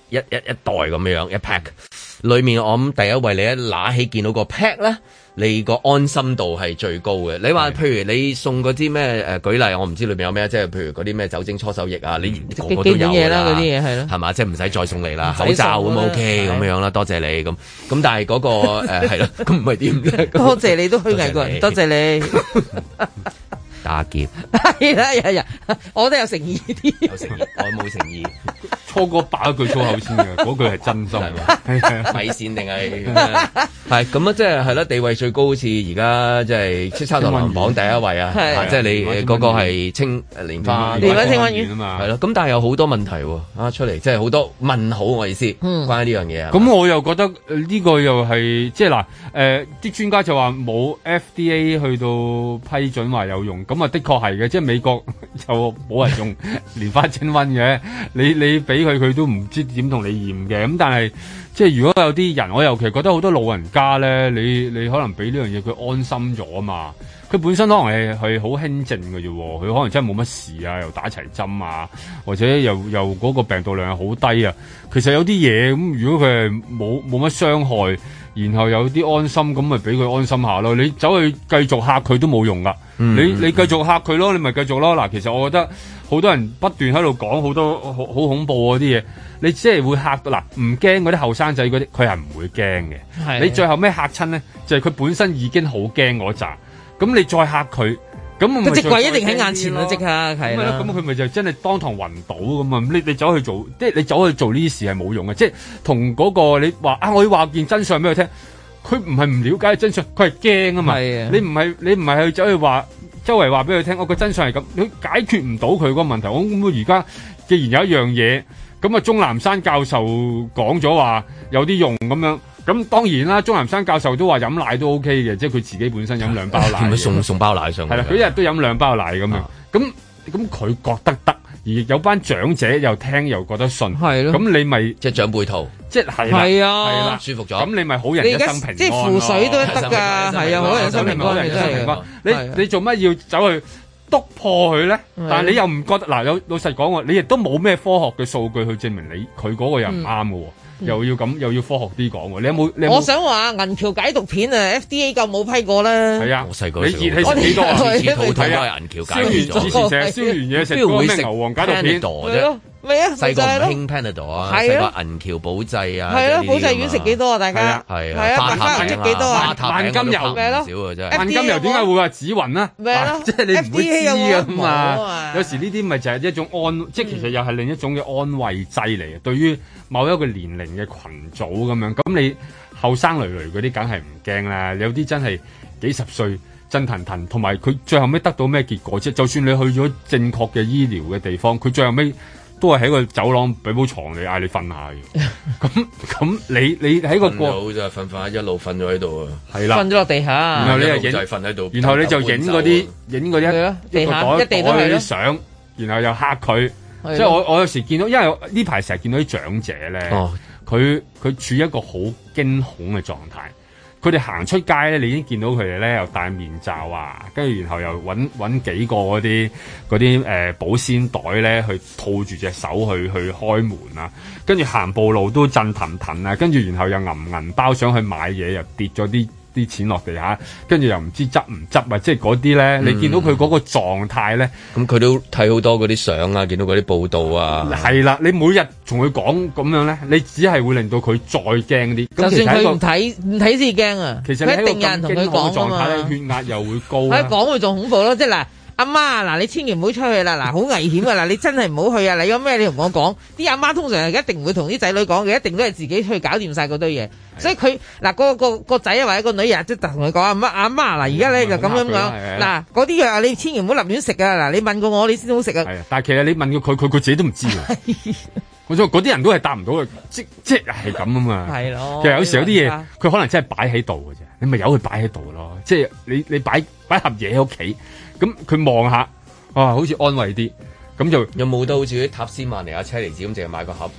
一一一袋咁樣一 pack，裏面我諗第一位你一拿起見到個 pack 咧，你個安心度係最高嘅。你話譬如你送嗰啲咩誒舉例，我唔知裏面有咩，即係譬如嗰啲咩酒精搓手液啊，你個個都有㗎啦， 嗰啲嘢係咯， 係嘛？即係唔使再送你啦，口罩咁 OK 咁樣啦，多謝你咁。咁但係嗰個誒係咯，咁唔係點咧？ 多謝你都虛偽過人，多謝你。 打劫係啦，日日我都有誠意啲， 有誠意，我冇誠意。 初哥爆一句粗口先嘅，嗰句係真心， 米線定係係咁啊！即係係啦，地位最高，好似而家即係叱咤樂壇榜第一位啊！即係你嗰個係青蓮花蓮花清瘟丸啊嘛， 係咯。咁但係有好多問題啊出嚟，即係好多問號，我意思關於呢樣嘢啊。 咁我又覺得呢個又係即係嗱誒，啲專家就話冇 F D A 去到批准話有用，咁啊的確係嘅，即係美國就冇人用蓮花清瘟嘅，你你俾佢佢都唔知點同你驗嘅，咁但係即係如果有啲人，我尤其覺得好多老人家咧，你你可能俾呢樣嘢佢安心咗啊嘛，佢本身可能係係好輕症嘅啫，佢可能真係冇乜事啊，又打齊針啊，或者又又嗰個病毒量係好低啊，其實有啲嘢咁，如果佢係冇冇乜傷害，然後有啲安心，咁咪俾佢安心下咯。你走去繼續嚇佢都冇用噶，嗯、你你繼續嚇佢咯，你咪繼續咯。嗱，其實我覺得好多人不斷喺度講好多好好恐怖嗰啲嘢，你即係會嚇到嗱，唔驚嗰啲後生仔嗰啲，佢係唔會驚嘅。的你最後咩嚇親咧？就係、是、佢本身已經好驚嗰扎，咁你再嚇佢。咁個隻鬼一定喺眼前咯，即刻係啦。 咁佢咪就真係當堂暈倒咁啊！你你走去做，即係你走去做呢啲事係冇用嘅。即係同嗰個你話啊，我要話件真相俾佢聽，佢唔係唔了解真相，佢係驚啊嘛。係啊，你唔係你唔係去走去話周圍話俾佢聽，我個真相係咁，你解決唔到佢嗰個問題。我咁而家既然有一樣嘢，咁啊鐘南山教授講咗話有啲用咁樣。咁當然啦，鐘南山教授都話飲奶都 OK 嘅，即係佢自己本身飲兩包奶， 係咪送送包奶上去？ 係啦，佢一日都飲兩包奶咁樣。咁咁佢覺得得，而有班長者又聽又覺得信，係咯。咁你咪即係長輩圖， 即係係係啊， 係啦， 舒服咗。 咁你咪好人一生平安， 即係符水都得㗎，係啊，好人一生平安，真係。 你你做乜要走去篤破佢咧？但係你又唔覺得嗱？有老實講喎，你亦都冇咩科學嘅數據去證明你佢嗰個又唔啱嘅喎。又要咁又要科學啲講喎，你有冇？你有冇我想話銀橋解毒片啊 ，F D A 夠冇批過啦。 係啊， 我細個你熱氣食幾多啊？ 熱肚痛都係銀橋解毒咗。 之前成日燒完嘢食嗰個咩牛黃解毒片啫。 咩啊？ 細個唔興 Panadol 啊，細個銀橋保濟啊， 係咯，保濟丸食幾多啊？大家係啊，花塔餅幾多啊？ 萬金油咩咯？ 少嘅真係。萬金油點解會話紫雲啊？ 咩咯？ 即係你唔會知噶嘛？有時呢啲咪就係一種安，即係其實又係另一種嘅安慰劑嚟嘅。對於某一個年齡嘅群組咁樣，咁你後生累累嗰啲梗係唔驚啦。有啲真係幾十歲震騰騰，同埋佢最後尾得到咩結果啫？就算你去咗正確嘅醫療嘅地方，佢最後尾都係喺個走廊俾鋪床你嗌你瞓下嘅。咁咁你你喺個過好就係瞓瞓一路瞓咗喺度啊， 係啦， 瞓咗落地下， 然後你又影就係瞓喺度， 然後你就影嗰啲影嗰啲一個袋袋嗰啲相，然後又嚇佢。即係我我有時見到，因為呢排成日見到啲長者咧，佢佢、哦、處於一個好驚恐嘅狀態。佢哋行出街咧，你已經見到佢哋咧又戴面罩啊，跟住然後又揾揾幾個嗰啲嗰啲誒保鮮袋咧去套住隻手去去開門啊，跟住行步路都震騰騰啊，跟住然後又銀銀包上去買嘢又跌咗啲啲錢落地下，跟住又唔知執唔執啊！即係嗰啲咧，你見到佢嗰個狀態咧， 咁佢、嗯、都睇好多嗰啲相啊，見到嗰啲報道啊， 係啦，你每日同佢講咁樣咧，你只係會令到佢再驚啲。 就算佢唔睇唔睇先驚啊！ 其實佢一定有人同佢講啊嘛。 血壓又會高， 佢講佢仲恐怖咯，即係嗱。阿媽嗱，你千祈唔好出去啦，嗱，好危險啊！嗱，你真係唔好去啊！你有咩你同我講，啲阿媽通常係一定唔會同啲仔女講嘅，一定都係自己去搞掂晒嗰堆嘢。所以佢嗱個個個仔或者個女啊，即係同佢講阿媽阿媽嗱，而家咧就咁樣樣嗱，嗰啲藥你千祈唔好立亂食啊！嗱，你問過我你先好食啊。 係啊，但係其實你問過佢，佢佢自己都唔知啊。我話嗰啲人都係答唔到嘅，即即係咁啊嘛。係咯。其實有時有啲嘢，佢可能真係擺喺度嘅啫，你咪由佢擺喺度咯。即係你你擺擺盒嘢喺屋企。咁佢望下，啊，好似安慰啲，咁就有冇得好似啲塔斯曼尼亞車厘子咁，淨係買個盒㗎？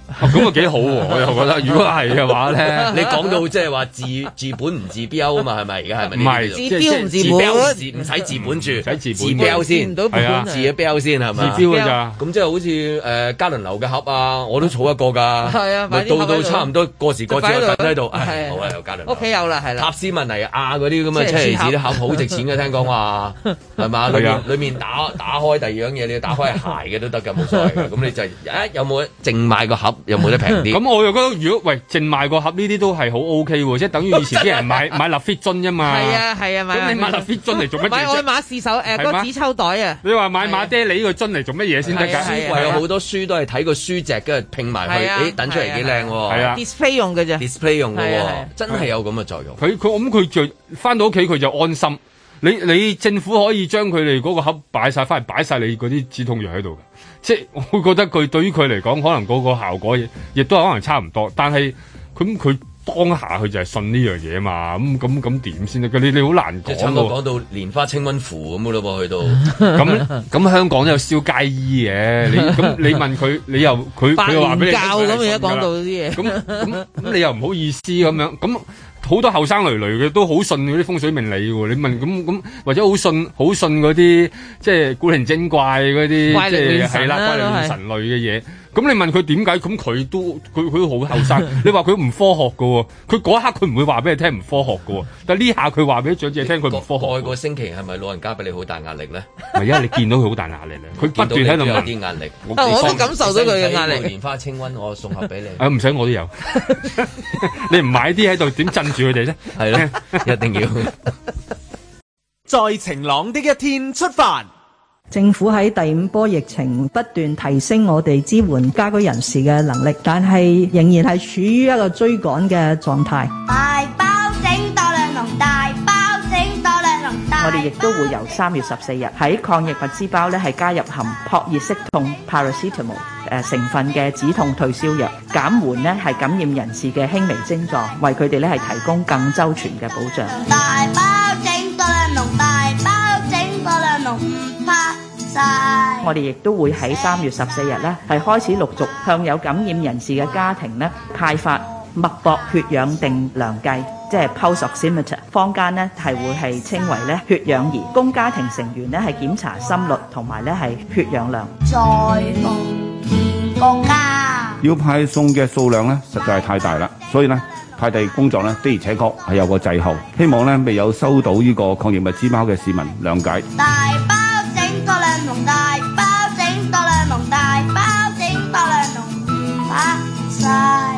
咁啊幾好喎！我又覺得，如果係嘅話咧， 你講到即係話治治本唔治標啊嘛，係咪而家係咪？ 唔係治標唔治本， 唔使治本住， 唔使治治標先， 係啊， 治咗標先係咪？ 治標㗎咋？ 咁即係好似誒嘉麟樓嘅盒啊，我都儲一個㗎。係啊，咪到到差唔多過時過節我等喺度，唉，好啊，有嘉麟樓。屋企有啦，係啦。塔斯文尼亞嗰啲咁嘅車厘子啲盒好值錢嘅，聽講話係嘛？裏面裏面打打開第二樣嘢，你要打開係鞋嘅都得㗎，冇所謂嘅。咁你就誒有冇淨賣個盒？有冇得平啲？ 咁我又覺得，如果喂淨賣個盒呢啲都係好 O K 喎，即係等於以前啲人買買立 fit 樽啫嘛。 係啊係啊，買咁你買立 fit 樽嚟做乜嘢？ 買愛馬仕手誒嗰個紙抽袋啊！ 你話買馬爹利個樽嚟做乜嘢先得㗎？ 書櫃有好多書都係睇個書脊，跟住拼埋佢，誒等出嚟幾靚喎。係啊 ，display 用嘅啫 ，display 用嘅喎，真係有咁嘅作用。 佢佢咁佢就翻到屋企佢就安心。你你政府可以將佢哋嗰個盒擺晒翻嚟，擺晒你嗰啲止痛藥喺度嘅，即係我會覺得佢對於佢嚟講，可能嗰個效果亦亦都係可能差唔多，但係咁佢當下佢就係信呢樣嘢嘛，咁咁咁點先得？你你好難講。 即係差唔多講到蓮花清瘟符咁嘅咯噃，去到咁咁香港都有燒街衣嘅，你咁你問佢，你又佢佢又話俾你教咁而家講到啲嘢， 咁咁咁你又唔好意思咁樣咁。好多後生累累嘅都好信嗰啲風水命理喎，你問咁咁或者好信好信嗰啲即係古靈精怪嗰啲即係係啦怪力亂神類嘅嘢。咁你問佢點解？咁佢都佢佢都好後生。你話佢唔科學㗎喎，佢嗰一刻佢唔會話俾你聽唔科學㗎喎。但係呢下佢話俾長者聽佢唔科學。 過個星期係咪老人家俾你好大壓力咧？ 唔係，因為你見到佢好大壓力咧，佢不斷喺度有啲壓力。 我都感受到佢嘅壓力。 蓮花清瘟，我送盒俾你。 啊，唔使我都有。你唔買啲喺度點鎮住佢哋啫？ 係咯，一定要。 在晴朗的一天出發。 政府喺第五波疫情不斷提升我哋支援家居人士嘅能力，但係仍然係處於一個追趕嘅狀態。 大包整多兩籠，大包整多兩籠。 我哋亦都會由三月十四日喺抗疫物資包咧係加入含撲熱息痛 paracetamol 誒成分嘅止痛退燒藥，減緩咧係感染人士嘅輕微症狀，為佢哋咧係提供更周全嘅保障。 大包整多兩籠，大包整多兩籠，唔怕晒。 我哋亦都會喺三月十四日咧係開始陸續向有感染人士嘅家庭咧派發脈搏血氧定量計，即係 pulse oximeter， 坊間呢係會係稱為咧血氧儀，供家庭成員咧係檢查心率同埋咧係血氧量。 在夢見國家要派送嘅數量咧實在係太大啦，所以呢派遞工作呢的而且確係有個滯後，希望呢未有收到呢個抗疫物資包嘅市民諒解。 大包整多兩籠，大包整多兩籠，大包整多兩籠，唔怕晒。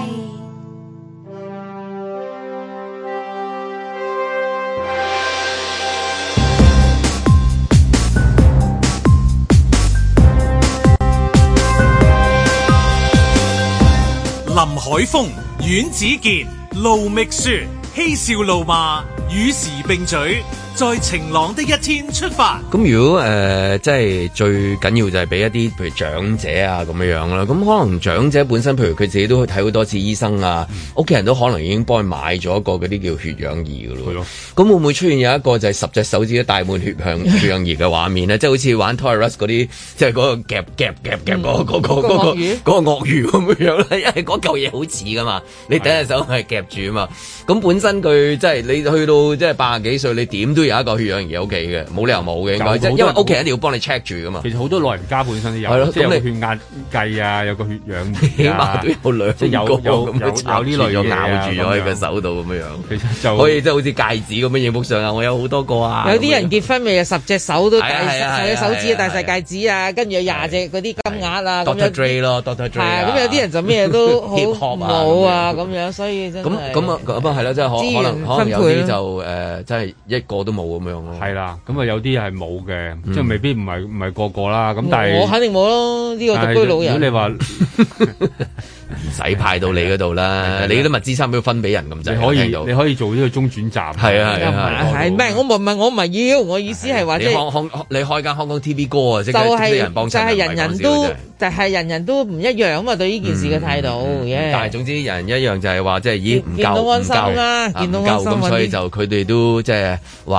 林海峰、阮子健、盧覓雪，嬉笑怒罵，與時並舉，在晴朗的一天出發。 咁如果誒、呃，即係最緊要就係俾一啲譬如長者啊咁樣樣啦。咁可能長者本身，譬如佢自己都去睇好多次醫生啊，屋企、嗯、人都可能已經幫佢買咗一個嗰啲叫血氧儀噶咯。咁會唔會出現有一個就係十隻手指都戴滿血氧血氧儀嘅畫面咧？即係好似玩 Toys R Us 嗰啲，即係嗰個夾夾夾夾嗰個嗰個嗰個嗰個鱷魚咁樣咧，因為嗰嚿嘢好似噶嘛，你第一隻手係夾住啊嘛。咁本身佢即係你去到即係八十幾歲，你點都有一個血氧儀喺屋企嘅，冇理由冇嘅應該，即係因為屋企人一定要幫你 check 住噶嘛。其實好多老人家本身都有，係咯，即係有個血壓計啊，有個血氧儀， 起碼都有兩即係有有有有呢類嘢咬住咗喺個手度咁樣樣， 其實就可以即係好似戒指咁樣影幅相啊！我有好多個啊。 有啲人結婚咪有十隻手都戴，十隻手指戴晒戒指啊，跟住有廿隻嗰啲金額啊咁樣。 Doctor Dre 咯，Doctor Dre 係咁有啲人就咩都好冇啊咁樣，所以真係咁咁啊咁啊係啦，即係可可能可能有啲就誒，即係一個都冇咁樣咯。 係啦，咁啊有啲係冇嘅，即係未必唔係唔係個個啦。咁但係我肯定冇咯，呢個獨居老人。 如果你話唔使派到你嗰度啦，你啲物資差唔多分俾人咁滯。 你可以你可以做呢個中轉站。 係啊係啊係，唔係我唔係我唔係要，我意思係話即係開開你開間香港 T V 歌啊，即係啲人幫襯， 就係人人都就係人人都唔一樣啊嘛，對呢件事嘅態度。 但係總之人一樣就係話即係咦唔夠見到安心啦，見到安心咁，所以就佢哋都即係話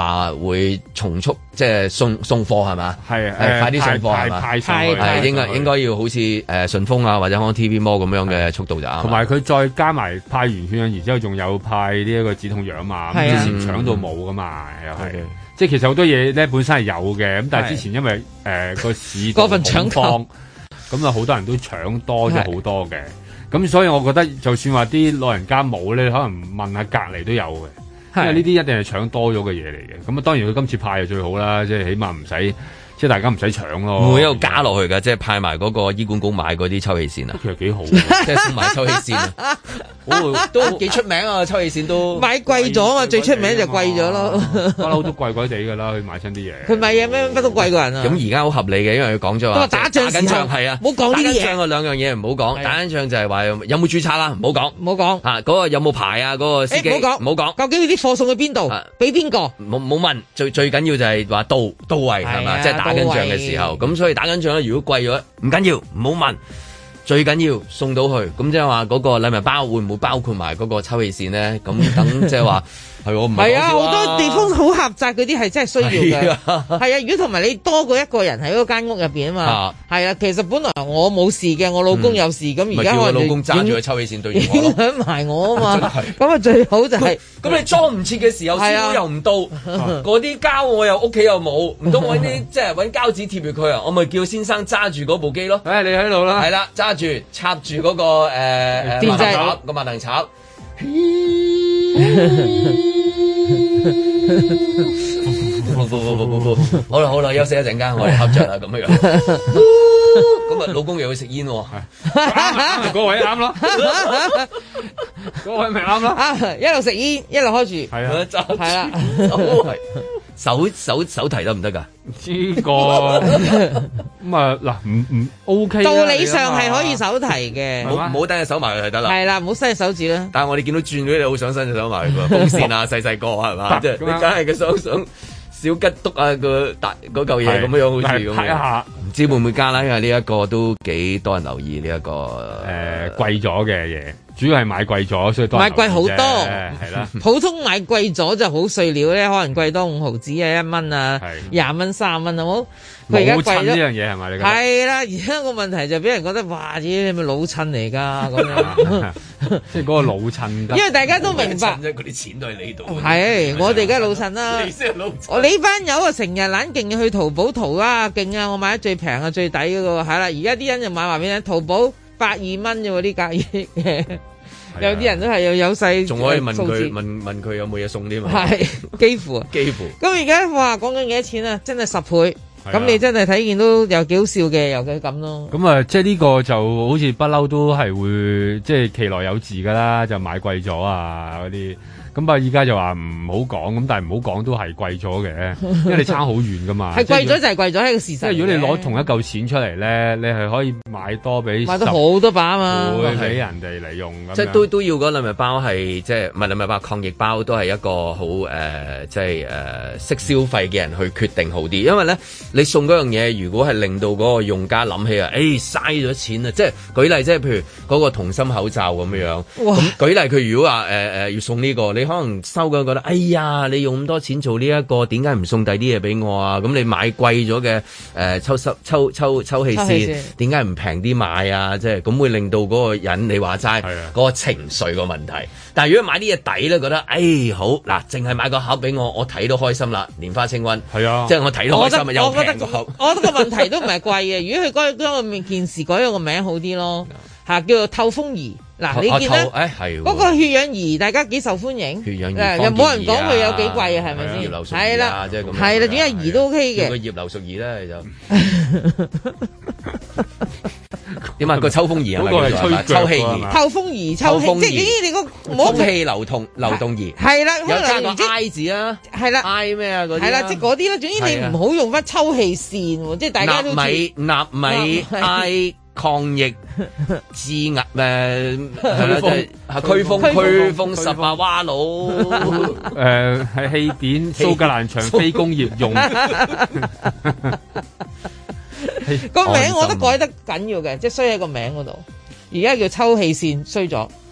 話會重速即係送送貨係嘛？係係快啲送貨係嘛？ 派上去係應該應該要好似誒順豐啊或者可能 T V Mall 咁樣嘅速度就啱。 同埋佢再加埋派完血氧儀之後，仲有派呢一個止痛藥嘛？咁之前搶到冇噶嘛？又係即係其實好多嘢咧本身係有嘅，咁但係之前因為誒個市過分搶購， 咁啊好多人都搶多咗好多嘅。咁所以我覺得就算話啲老人家冇咧，可能問下隔離都有嘅，因為呢啲一定係搶多咗嘅嘢嚟嘅。咁啊當然佢今次派就最好啦，即係起碼唔使。即係大家唔使搶咯， 會唔會一路加落去㗎？即係派埋嗰個醫管局買嗰啲抽氣扇啊， 其實幾好， 即係送埋抽氣扇啊，都幾出名啊！抽氣扇都買貴咗啊嘛，最出名就貴咗咯， 不嬲都貴貴地㗎啦，佢買親啲嘢。 佢買嘢咩乜都貴過人啊！ 咁而家好合理嘅，因為佢講咗話打仗緊仗係啊， 唔好講呢啲嘢。打緊仗嗰兩樣嘢唔好講，打緊仗就係話有冇註冊啦，唔好講， 唔好講啊嗰個有冇牌啊，嗰個司機唔好講，唔好講。究竟啲貨送去邊度？俾邊個？ 冇冇問，最最緊要就係話到到位係嘛，即係打緊仗嘅時候。咁所以打緊仗咧，如果貴咗唔緊要，唔好問，最緊要送到去。咁即係話嗰個禮物包會唔會包括埋嗰個抽氣扇咧？咁等即係話。係我唔係啊！好多地方好狹窄嗰啲係真係需要嘅。係啊，如果同埋你多過一個人喺嗰間屋入邊啊嘛。係啊，其實本來我冇事嘅，我老公有事，咁而家我老公揸住個抽氣扇對住我， 影響埋我啊嘛。咁啊最好就係咁你裝唔切嘅時候，師傅又唔到，嗰啲膠我又屋企又冇，唔通揾啲即係揾膠紙貼住佢啊？我咪叫先生揸住嗰部機咯。 誒，你喺度啦。 係啦，揸住插住嗰個誒誒電掣個萬能插。好啦好啦，休息一陣間，我哋合着啦咁樣。咁啊，老公又要食煙喎， 嗰位啱咯，嗰位咪啱咯， 一路食煙一路開住， 係啊， 係啦， 手手手提得唔得噶？ 呢個咁啊嗱，唔唔 OK， 道理上係可以手提嘅， 唔好等隻手埋就得啦。 係啦，唔好伸隻手指啦。 但係我哋見到轉咗，你好想伸隻手埋個風扇啊，細細個係嘛？即係你梗係個手想小吉篤啊個大嗰嚿嘢咁樣樣，好似咁樣。唔知會唔會加啦？因為呢一個都幾多人留意呢一個誒貴咗嘅嘢。主要係買貴咗，所以多買貴好多， 係啦。 普通買貴咗就好碎料咧，可能貴多五毫子啊，一蚊啊，廿蚊、三蚊好冇？佢而家貴咗呢樣嘢係咪？你覺得係啦，而家個問題就俾人覺得哇，咦，你咪老襯嚟㗎咁樣， 即係嗰個老襯。 因為大家都明白， 嗰啲錢都喺你度。 係，我哋而家老襯啦。 你先係老襯。 我呢班友啊，成日懶勁去淘寶淘啊，勁啊！我買得最平啊，最抵嗰個係啦。而家啲人就買話俾你，淘寶百二蚊啫喎，呢價嘢。有啲人都係有有細， 仲可以問佢問問佢有冇嘢送添嘛？ 係幾乎啊， 幾乎。 咁而家話講緊幾多錢啊？真係十倍。咁你真係睇見都有幾好笑嘅，尤其咁咯。 咁啊，即係呢個就好似不嬲都係會即係其來有自噶啦，就買貴咗啊嗰啲。咁啊，依家就話唔好講，咁但係唔好講都係貴咗嘅，因為你差好遠噶嘛。 係貴咗就係貴咗，係個事實。 即係如果你攞同一嚿錢出嚟咧，你係可以買多俾買到好多把啊嘛， 會俾人哋嚟用。 即係都都要嗰禮物包係即係唔係禮物包抗疫包都係一個好誒、呃，即係誒識消費嘅人去決定好啲，因為咧你送嗰樣嘢，如果係令到嗰個用家諗起啊，誒嘥咗錢啊！即係舉例，即係譬如嗰個同心口罩咁樣樣。咁舉例，佢如果話誒誒要送呢個，你可能收嘅覺得，哎呀，你用咁多錢做呢一個，點解唔送第啲嘢俾我啊？咁你買貴咗嘅誒抽濕抽抽抽氣扇，點解唔平啲買啊？即係咁會令到嗰個人你話齋嗰個情緒個問題。但係如果買啲嘢抵咧，覺得誒好嗱，淨係買個盒俾我，我睇都開心啦。蓮花清瘟係啊，即係我睇都開心啊，又平個盒。 我覺得個問題都唔係貴嘅，如果佢改將個件事改咗個名好啲咯，嚇叫做透風儀。嗱，你見咧嗰個血氧儀，大家幾受歡迎？ 血氧儀又冇人講佢有幾貴啊？係咪先？係啦， 即係咁。 係啦，點解儀都 OK 嘅？ 個葉劉淑儀咧就點啊？個抽風儀係咪？嗰個係吹抽氣儀。 透風儀、抽氣，即係咦？你個空氣流通流動儀係啦， 有加個 I 字啊， 係啦 ，I 咩啊嗰啲係啦，即係嗰啲啦。總之你唔好用翻抽氣扇喎，即係大家都納米納米 I。抗疫治壓誒係啦，驅風驅風十八蛙佬誒係氣墊蘇格蘭場非工業用個名我都改得緊要嘅，即係衰喺個名嗰度。而家叫抽氣扇衰咗，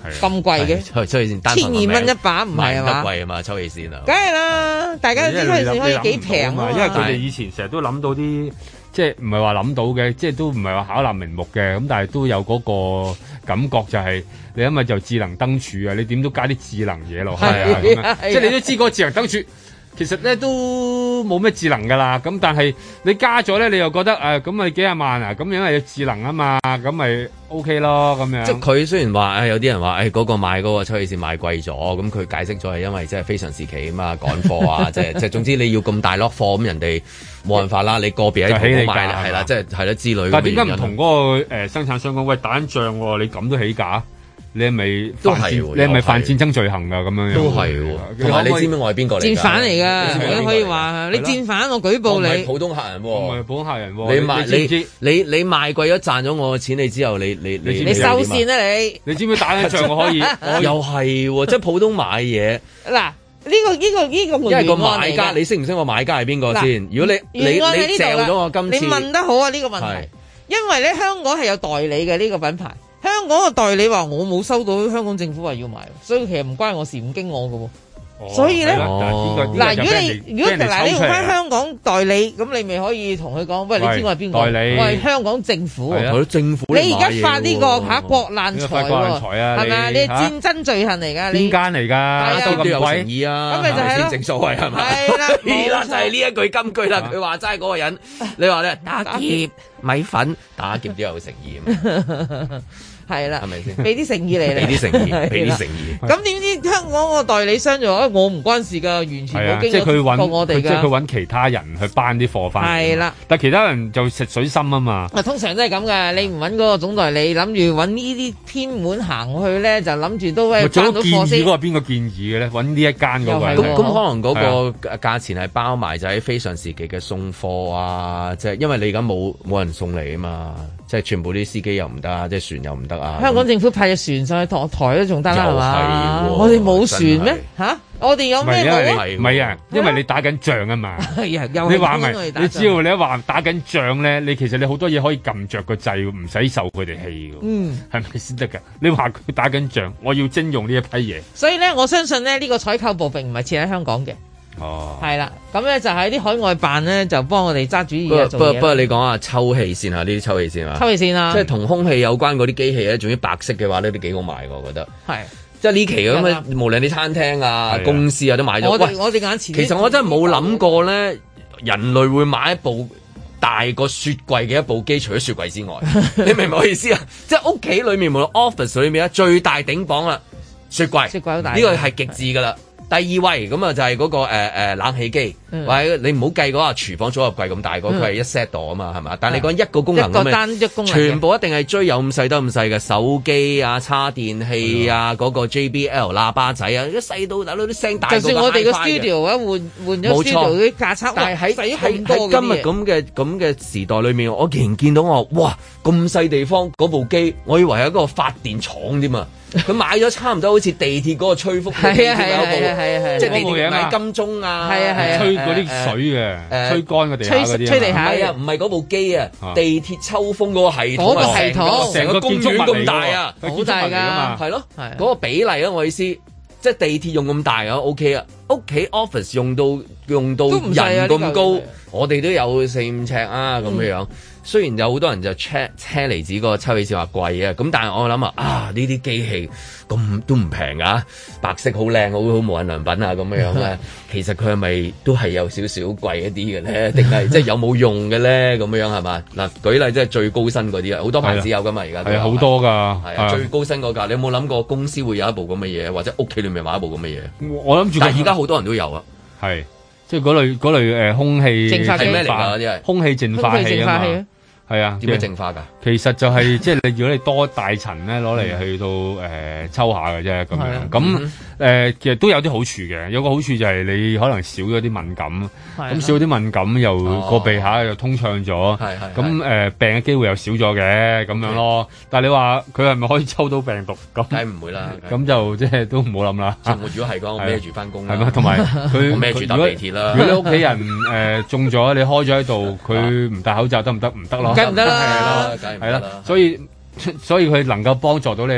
咁貴嘅，千二蚊一把唔係啊嘛？ 貴啊嘛，抽氣扇啊！ 梗係啦，大家都知抽氣扇可以幾平啊！ 因為佢哋以前成日都諗到啲，即係唔係話諗到嘅，即係都唔係話巧立名目嘅，咁但係都有嗰個感覺就係你因為就智能燈柱啊，你點都加啲智能嘢落去啊，即係你都知嗰個智能燈柱。其實咧都冇咩智能噶啦，咁但係你加咗咧，你又覺得誒咁咪幾廿萬啊？咁因為有智能啊嘛，咁咪 OK 咯咁樣。 即係佢雖然話誒有啲人話誒嗰個買嗰個抽氣扇買貴咗，咁佢解釋咗係因為即係非常時期啊嘛，趕貨啊，即係即係總之你要咁大 lot 貨，咁人哋冇辦法啦，你個別喺淘寶買係啦，即係係啦之類。 但係點解唔同嗰個誒生產商講喂打緊仗喎？你咁都起價？你係咪都係？ 你係咪犯戰爭罪行㗎？咁樣都係喎。同埋你知唔知我係邊個嚟？ 戰犯嚟㗎，你可以話你戰犯，我舉報你。 普通客人喎， 唔係普通客人喎。 你賣你你你賣貴咗賺咗我嘅錢，你之後你你你你收線啊你！ 你知唔知打緊仗我可以？ 又係喎，即係普通買嘢嗱。呢個呢個呢個因為個買家，你識唔識個買家係邊個先？如果你你你借咗我今次， 你問得好啊呢個問題，因為咧香港係有代理嘅呢個品牌。香港嘅代理話我冇收到香港政府話要買，所以其實唔關我事，唔經我嘅喎。哦、所以咧，嗱、哦，如果你如果嗱你用翻香港代理，咁你咪可以同佢講，喂，你知我係邊個？代理，我係香港政府。 係啊，政府。 你而家發呢個嚇國難財喎，係咪啊？你係戰爭罪行嚟㗎，你邊間嚟㗎？ 都有誠意啊， 咁咪就係咯， 正所謂係咪？ 係啦， 係啦，就係呢一句金句啦。佢話齋嗰個人，你話咧打劫米粉，打劫都有誠意啊。 係啦， 係咪先？ 俾啲誠意嚟， 俾啲誠意，俾啲誠意。 咁點知香港個代理商就話：我唔關事㗎，完全冇經過我哋㗎。 即係佢揾其他人去搬啲貨翻嚟。係啦，但係其他人就食水深啊嘛。 啊，通常都係咁㗎。你唔揾嗰個總代理，諗住揾呢啲偏門行去咧，就諗住都係搬到貨先。 嗰個邊個建議嘅咧？揾呢一間嗰個。 咁咁可能嗰個價錢係包埋就喺非常時期嘅送貨啊，即係因為你而家冇冇人送嚟啊嘛。即係全部啲司機又唔得啊，即係船又唔得啊！ 香港政府派隻船上去台台都仲得啦，係嘛？我哋冇船咩？嚇！我哋有咩冇？ 唔係啊，因為你打緊仗啊嘛。你話咪？你只要你一話打緊仗咧，你其實你好多嘢可以撳着個掣，唔使受佢哋氣㗎。嗯，係咪先得㗎？你話佢打緊仗，我要徵用呢一批嘢。 所以咧，我相信咧，呢個採購部並唔係設喺香港嘅。哦，係啦，咁咧就喺啲海外辦咧，就幫我哋揸主意做嘢。 不過不過你講下抽氣扇啊，呢啲抽氣扇啊， 抽氣扇啊， 即係同空氣有關嗰啲機器咧，仲要白色嘅話呢，都幾好賣㗎，我覺得。係，即係呢期咁嘅，無論你餐廳啊、公司啊都買咗。我哋我哋眼前，其實我真係冇諗過咧，人類會買一部大過雪櫃嘅一部機，除咗雪櫃之外，你明唔明我意思啊？即係屋企裏面無論 office 裏面啊，最大頂磅啦，雪櫃，雪櫃好大，呢個係極致㗎啦。第二位咁啊就係嗰個誒誒冷氣機，或者你唔好計嗰個廚房組合櫃咁大個，佢係一 set 度啊嘛，係嘛？但係你講一個功能咁嘅，全部一定係追有咁細得咁細嘅手機啊、叉電器啊、嗰個 J B L 喇叭仔啊，一細到大佬啲聲大過 HiFi 嘅。就算我哋個 studio 啊，換換咗 studio 啲架測，但係喺喺喺今日咁嘅咁嘅時代裏面，我竟然見到我哇咁細地方嗰部機，我以為係一個發電廠添啊！佢買咗差唔多好似地鐵嗰個吹風機咁樣部，即係地鐵買金鐘啊， 吹嗰啲水嘅，吹乾個地下嗰啲， 吹地下啊，唔係嗰部機啊，地鐵抽風嗰個系統，嗰個系統成個公園咁大啊， 好大㗎， 係咯，嗰個比例啊，我意思，即係地鐵用咁大啊 OK 啊，屋企 office 用到用到人咁高，我哋都有四五尺啊咁樣樣。雖然有好多人就 check 車厘子嗰個抽氣扇話貴啊，咁但係我諗啊，啊呢啲機器咁都唔平噶，白色好靚，好好無印良品啊咁樣樣咧，其實佢係咪都係有少少貴一啲嘅咧？定係即係有冇用嘅咧？咁樣樣係嘛？嗱，舉例即係最高薪嗰啲啊，好多牌子有噶嘛，而家係好多㗎， 係啊，最高薪嗰架，你有冇諗過公司會有一部咁嘅嘢，或者屋企裏面買一部咁嘅嘢？ 我諗住， 但係而家好多人都有啊， 係即係嗰類嗰類誒空氣淨化係咩嚟㗎？啲係空氣淨化器啊嘛。係啊， 點樣淨化㗎？ 其實就係即係你，如果你多大層咧，攞嚟去到誒、呃、抽下嘅啫咁樣。咁誒其實都有啲好處嘅，有個好處就係你可能少咗啲敏感，咁少咗啲敏感又個鼻下又通暢咗，咁誒病嘅機會又少咗嘅咁樣咯。但係你話佢係咪可以抽到病毒？咁梗係唔會啦。咁就即係都唔好諗啦。 如果係講，我孭住翻工啦。 係嘛，同埋佢我孭住搭地鐵啦。 如果你屋企人誒中咗，你開咗喺度，佢唔戴口罩得唔得？唔得咯。 梗唔得啦， 係啦，係啦，所以所以佢能夠幫助到你咧，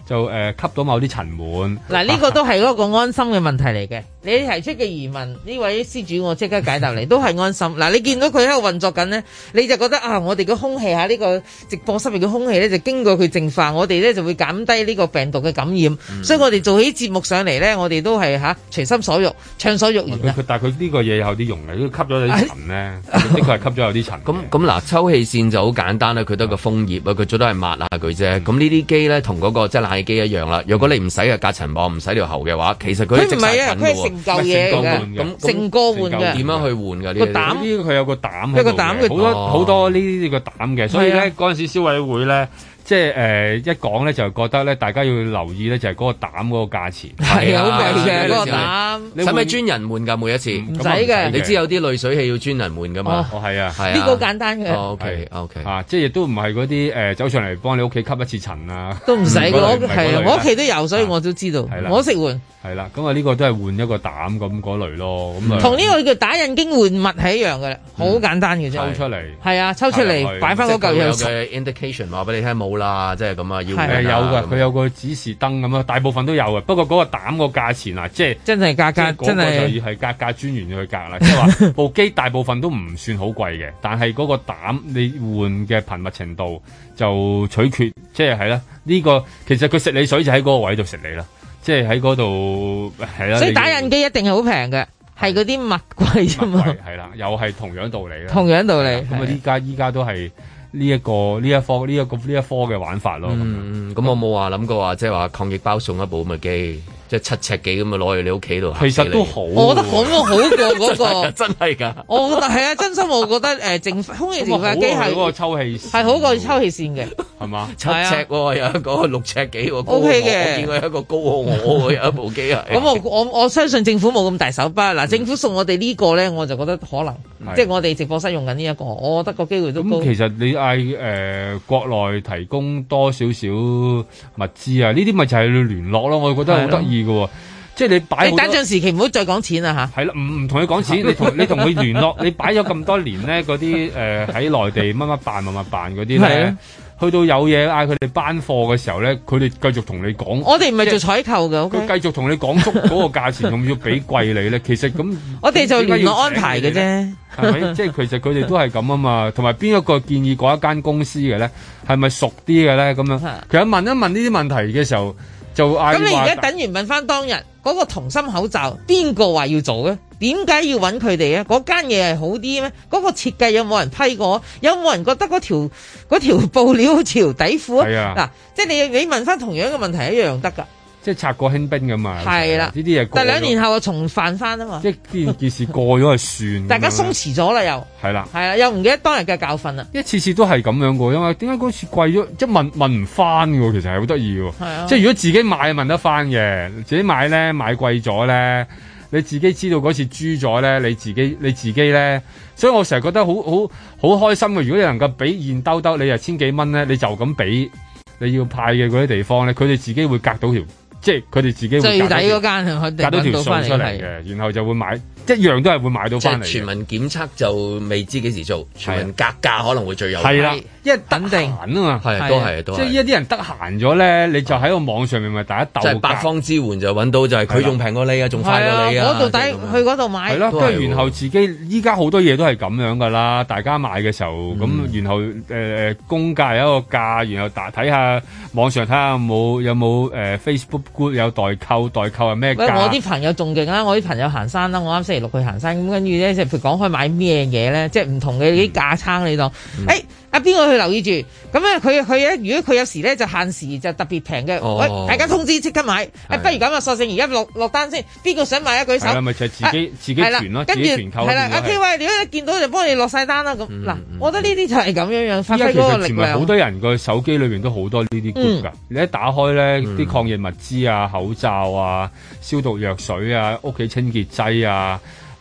就誒、呃、吸到某啲塵蟎。 嗱，呢個都係嗰個安心嘅問題嚟嘅。你提出嘅疑問，呢位施主我即刻解答你，都係安心。嗱，你見到佢喺度運作緊呢，你就覺得啊，我哋嘅空氣嚇呢個直播室入嘅空氣咧，就經過佢淨化，我哋咧就會減低呢個病毒嘅感染。嗯、所以我哋做起節目上嚟咧，我哋都係嚇隨心所欲、暢所欲言。 佢但係佢呢個嘢有啲用嘅，吸咗有啲塵咧，的確係吸咗有啲塵。 咁咁嗱，抽氣扇就好簡單啦，佢得個風葉啊，佢最多係抹下佢啫。咁呢啲機咧，同嗰個即係冷氣機一樣啦。如果你唔使嘅隔塵網，唔使條喉嘅話，其實佢佢唔係啊，佢係成嚿嘢嘅。咁成個換嘅，點樣去換㗎？呢個膽呢佢有個膽， 一個膽嘅， 好多好多呢啲個膽嘅，所以咧嗰陣時消委會咧。即係誒、呃、一講咧就覺得咧大家要留意咧就係嗰個膽嗰個價錢係好貴嘅嗰個膽， 使唔使專人換㗎每一次？ 唔使嘅， 你知有啲濾水器要專人換㗎嘛？ 哦係啊， 呢個簡單嘅。 O K O K 啊，即係亦都唔係嗰啲誒走上嚟幫你屋企吸一次塵啊， 都唔使嘅。我係我屋企都有，所以我都知道。 係啦， 我識換。 係啦，咁啊呢個都係換一個膽咁嗰類咯，咁啊同呢個叫打印經換物係一樣嘅啦，好簡單嘅啫。 抽出嚟係啊，抽出嚟擺翻嗰嚿嘢。 有嘅 indication 話俾你聽冇啦，即係咁啊要誒有㗎，佢有個指示燈咁啊，大部分都有嘅。不過嗰個膽個價錢啊，即係真係價格真係就要係價格專員去格啦，即係話部機大部分都唔算好貴嘅，但係嗰個膽你換嘅頻密程度就取決，即係係啦。呢個其實佢食你水就喺嗰個位度食你啦。即係喺嗰度係啦， 所以打印機一定係好平嘅，係嗰啲物貴啫嘛。 係啦，又係同樣道理啦。 同樣道理。 咁啊，依家依家都係呢一個呢一科呢一個呢一科嘅玩法咯。 嗯，咁我冇話諗過話，即係話抗疫包送一部咁嘅機。即係七尺幾咁啊，攞去你屋企度。 其實都好， 我覺得咁好過嗰個， 真係㗎。 我覺得係啊，真心我覺得誒，淨空氣淨化機係嗰個抽氣係好過抽氣扇嘅， 係嘛？ 七尺喎，有一個六尺幾喎 ，O K 嘅。 我見過一個高過我有一部機係。 咁我我我相信政府冇咁大手筆嗱，政府送我哋呢個咧，我就覺得可能即係我哋直播室用緊呢一個，我覺得個機會都高。 咁其實你嗌誒國內提供多少少物資啊？呢啲咪就係你聯絡咯，我覺得好得意嘅喎。即係你擺， 你等陣時期唔好再講錢啦吓。 係啦，唔唔同你講錢，你同你同佢聯絡，你擺咗咁多年咧，嗰啲誒喺內地乜乜辦乜乜辦嗰啲咧，去到有嘢嗌佢哋班貨嘅時候咧，佢哋繼續同你講。 我哋唔係做採購嘅， 佢繼續同你講足嗰個價錢，仲要俾貴你咧。其實咁， 我哋就聯絡安排嘅啫， 係咪？即係其實佢哋都係咁啊嘛。同埋邊一個建議嗰一間公司嘅咧，係咪熟啲嘅咧？咁樣，其實問一問呢啲問題嘅時候。就嗌， 咁你而家等於問翻當日嗰個同心口罩，邊個話要做咧？點解要揾佢哋啊？嗰間嘢係好啲咩？嗰個設計有冇人批過？有冇人覺得嗰條嗰條布料好似條底褲啊？ 係啊， 嗱，即係你你問翻同樣嘅問題一樣得㗎。 即係拆過輕兵咁嘛， 係啦， 呢啲嘢。 但兩年後就重犯翻啊嘛。 即係件件事過咗就算。 大家鬆弛咗啦，又係啦， 係啦，又唔記得當日嘅教訓啦。 一次次都係咁樣嘅，因為點解嗰次貴咗？即係問問唔翻嘅，其實係好得意嘅。係啊，即係如果自己買問得翻嘅，自己買咧買貴咗咧，你自己知道嗰次輸咗咧，你自己你自己咧，所以我成日覺得好好好開心嘅。如果你能夠俾現兜兜，你又千幾蚊咧，你就咁俾你要派嘅嗰啲地方咧，佢哋自己會隔到條。即係佢哋自己會最底嗰間係佢哋隔到條數出嚟嘅，然後就會買一樣都係會買到翻嚟。 全民檢測就未知幾時做，全民格價可能會最有。 係啦，因為等定閒啊嘛， 係都係都係。 即係一啲人得閒咗咧，你就喺個網上面咪大家鬥。 即係八方支援就揾到，就係佢仲平過你啊，仲快過你啊。 嗰度抵去嗰度買。 係咯，跟住然後自己依家好多嘢都係咁樣噶啦，大家買嘅時候咁，然後誒誒公價有一個價，然後打睇下網上睇下有冇有冇誒 Facebook group 有代購。代購係咩價？ 我啲朋友仲勁啦，我啲朋友行山啦，我啱星期六去行山，咁跟住咧，即係譬如講開買咩嘢咧，即係唔同嘅啲架撐你當，誒、嗯。欸啊邊個去留意住？咁咧佢佢咧，如果佢有時咧就限時就特別平嘅，喂、哦、大家通知即刻買。誒的、啊、不如咁啊，索性而家落落單先，邊個想買一舉手？係啦， 咪就係、自己、啊、自己團咯，自己團購。 係啦，阿 K 喂，如果你見到就幫你落晒單啦。咁嗱，我覺得呢啲就係咁樣樣發揮嗰個力量。 好多人個手機裏邊都好多呢啲 group 㗎。你一打開咧，啲、嗯、抗疫物資啊、口罩啊、消毒藥水啊、屋企清潔劑啊。誒、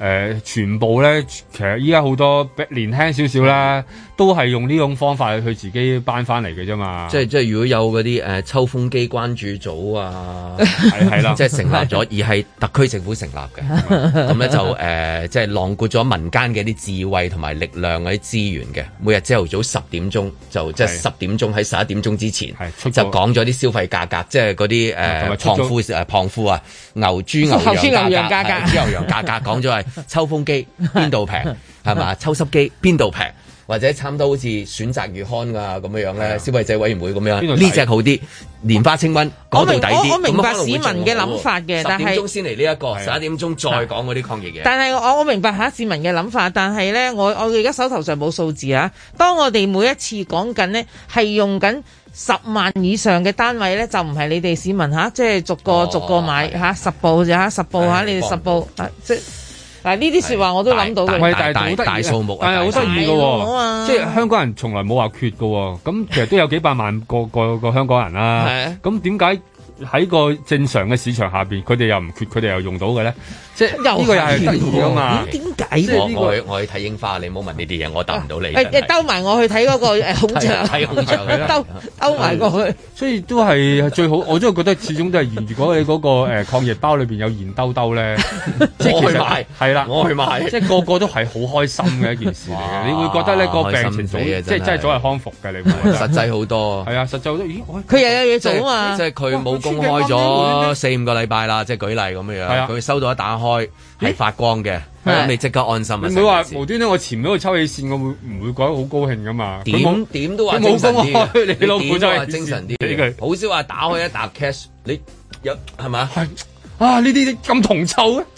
呃、全部咧，其實依家好多年輕少少啦，都係用呢種方法去自己搬翻嚟嘅啫嘛。 即係即係如果有嗰啲誒抽風機關注組啊，係係啦，即係成立咗，而係特區政府成立嘅，咁咧就誒、呃、即係囊括咗民間嘅啲智慧同埋力量嗰啲資源嘅。每日朝頭早十點鐘就即係十點鐘喺十一點鐘之前就講咗啲消費價格，即係嗰啲誒胖夫誒胖夫啊，牛豬牛羊價格，豬牛羊價格講咗係抽風機邊度平係嘛？抽濕機邊度平？或者差唔多好似選擇月刊㗎咁樣樣咧，消費者委員會咁樣，呢隻好啲，蓮花清瘟嗰度抵啲。 我明白市民嘅諗法嘅，但係十點鐘先嚟呢一個，十一點鐘再講嗰啲抗疫嘢。 但係我我明白下市民嘅諗法，但係咧，我我而家手頭上冇數字啊。當我哋每一次講緊呢，係用緊十萬以上嘅單位咧，就唔係你哋市民嚇，即係逐個、哦、逐個買嚇十部就嚇十部嚇，你哋十部啊即。嗱呢啲説話我都諗到嘅， 但係大數目，但係好得意嘅喎，即係香港人從來冇話缺嘅喎，咁其實都有幾百萬個個個香港人啦，咁點解喺個正常嘅市場下邊，佢哋又唔缺，佢哋又用到嘅咧？即係呢個又係得意啊嘛？點解咧？我我我去睇櫻花，你唔好問呢啲嘢，我答唔到你。 誒兜埋我去睇嗰個誒孔雀， 睇孔雀兜兜埋過去。 所以都係最好，我都係覺得始終都係現。如果你嗰個誒抗疫包裏邊有現兜兜咧，即係其實係啦， 我去買， 即係個個都係好開心嘅一件事嚟嘅。你會覺得咧個病情早，即係真係早日康復嘅。你會覺得實際好多。 係啊，實際好多。咦？ 佢又有嘢做啊嘛！ 即係佢冇公開咗四五個禮拜啦，即係舉例咁樣樣。佢收到一打開係發光嘅，咁你即刻安心啊！ 你唔會話無端端我潛咗個抽氣扇，我會唔會覺得好高興噶嘛？ 點點都話精神啲， 你老虎真係精神啲。好少話打開一沓 cash，你有係咪？ 係啊！呢啲咁銅臭嘅，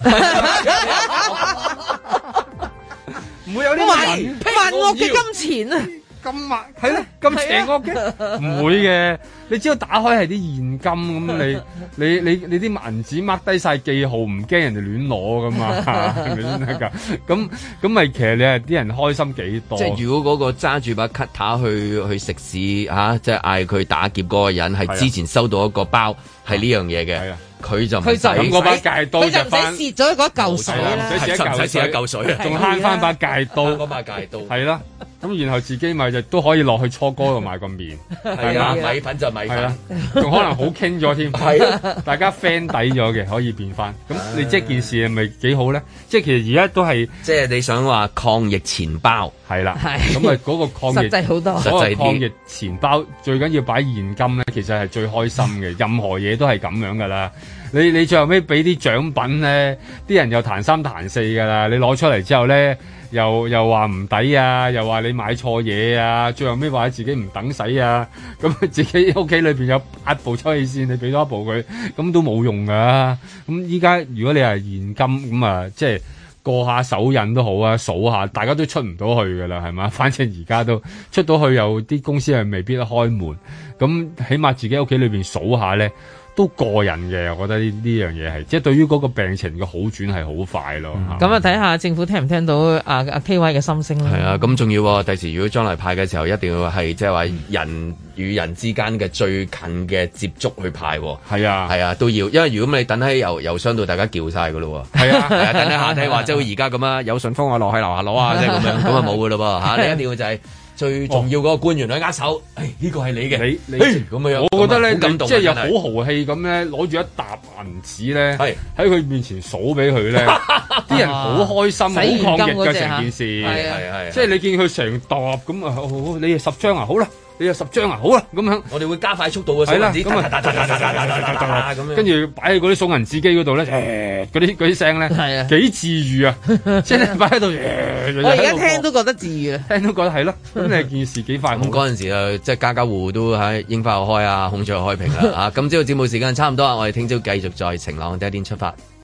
唔會有啲人萬惡嘅金錢啊！ 咁密係咯，咁邪惡嘅唔會嘅。你只要打開係啲現金咁，你你你你啲銀紙 mark 低晒記號，唔驚人哋亂攞噶嘛，係咪先得㗎？咁咁咪其實你係啲人開心幾多？ 即係如果嗰個揸住把 cutter 去去食肆嚇，即係嗌佢打劫嗰個人係之前收到一個包係呢樣嘢嘅。佢就唔使咁嗰把戒刀就翻， 蝕咗嗰嚿水啦， 唔使蝕一嚿水啊，仲慳翻把戒刀， 嗰把戒刀係啦。咁然後自己咪就都可以落去初哥度買個麵， 係啊，米粉就米粉， 仲可能好傾咗添，係大家 friend 底咗嘅，可以變翻。咁你即係件事係咪幾好咧？即係其實而家都係， 即係你想話抗疫錢包係啦，咁啊嗰個抗疫實際好多， 嗰個抗疫錢包最緊要擺現金咧，其實係最開心嘅。任何嘢都係咁樣噶啦。你你最後尾俾啲獎品咧，啲人又彈三彈四噶啦。你攞出嚟之後咧，又又話唔抵啊，又話你買錯嘢啊，最後尾話自己唔等使啊，咁自己屋企裏邊有八部抽氣扇，你俾多一部佢，咁都冇用噶。咁依家如果你係現金咁啊，即係過下手癮都好啊，數下，大家都出唔到去噶啦，係嘛？反正而家都出到去，有啲公司係未必得開門，咁起碼自己屋企裏邊數下咧。都過癮嘅，我覺得呢呢樣嘢係，即係對於嗰個病情嘅好轉係好快咯。 咁啊、嗯，睇下政府聽唔聽到阿阿 K Y 嘅心聲啦。 係啊，咁仲要第時如果將來派嘅時候，一定要係即係話人與人之間嘅最近嘅接觸去派。 係啊， 係啊，都要，因為如果你等喺郵郵箱度，大家叫晒噶咯。係啊，係啊，等喺下梯話即係而家咁啊，有順豐啊，落去樓下攞啊，即係咁樣，咁啊冇噶咯喎嚇，你一定要就係、是。最重要嗰個官員去握手，誒呢個係你嘅，你你咁樣， 我覺得咧，你即係又好豪氣咁咧，攞住一沓銀紙咧，喺佢面前數俾佢咧，啲人好開心，好抗疫嘅成件事，係係即係你見佢成沓咁啊，你係十張啊，好啦。你有十張啊，好啦，咁樣我哋會加快速度嘅數銀紙，咁啊， 跟住擺喺嗰啲數銀紙機嗰度咧，誒，嗰啲嗰啲聲咧，係啊，幾治癒啊，即係擺喺度， 我而家聽都覺得治癒啊， 聽都覺得係咯，咁你件事幾快？ 咁嗰陣時啊，即係家家戶戶都喺櫻花又開啊，孔雀又開屏啦，啊，今朝嘅節目時間差唔多啊，我哋聽朝繼續在晴朗的一天出發。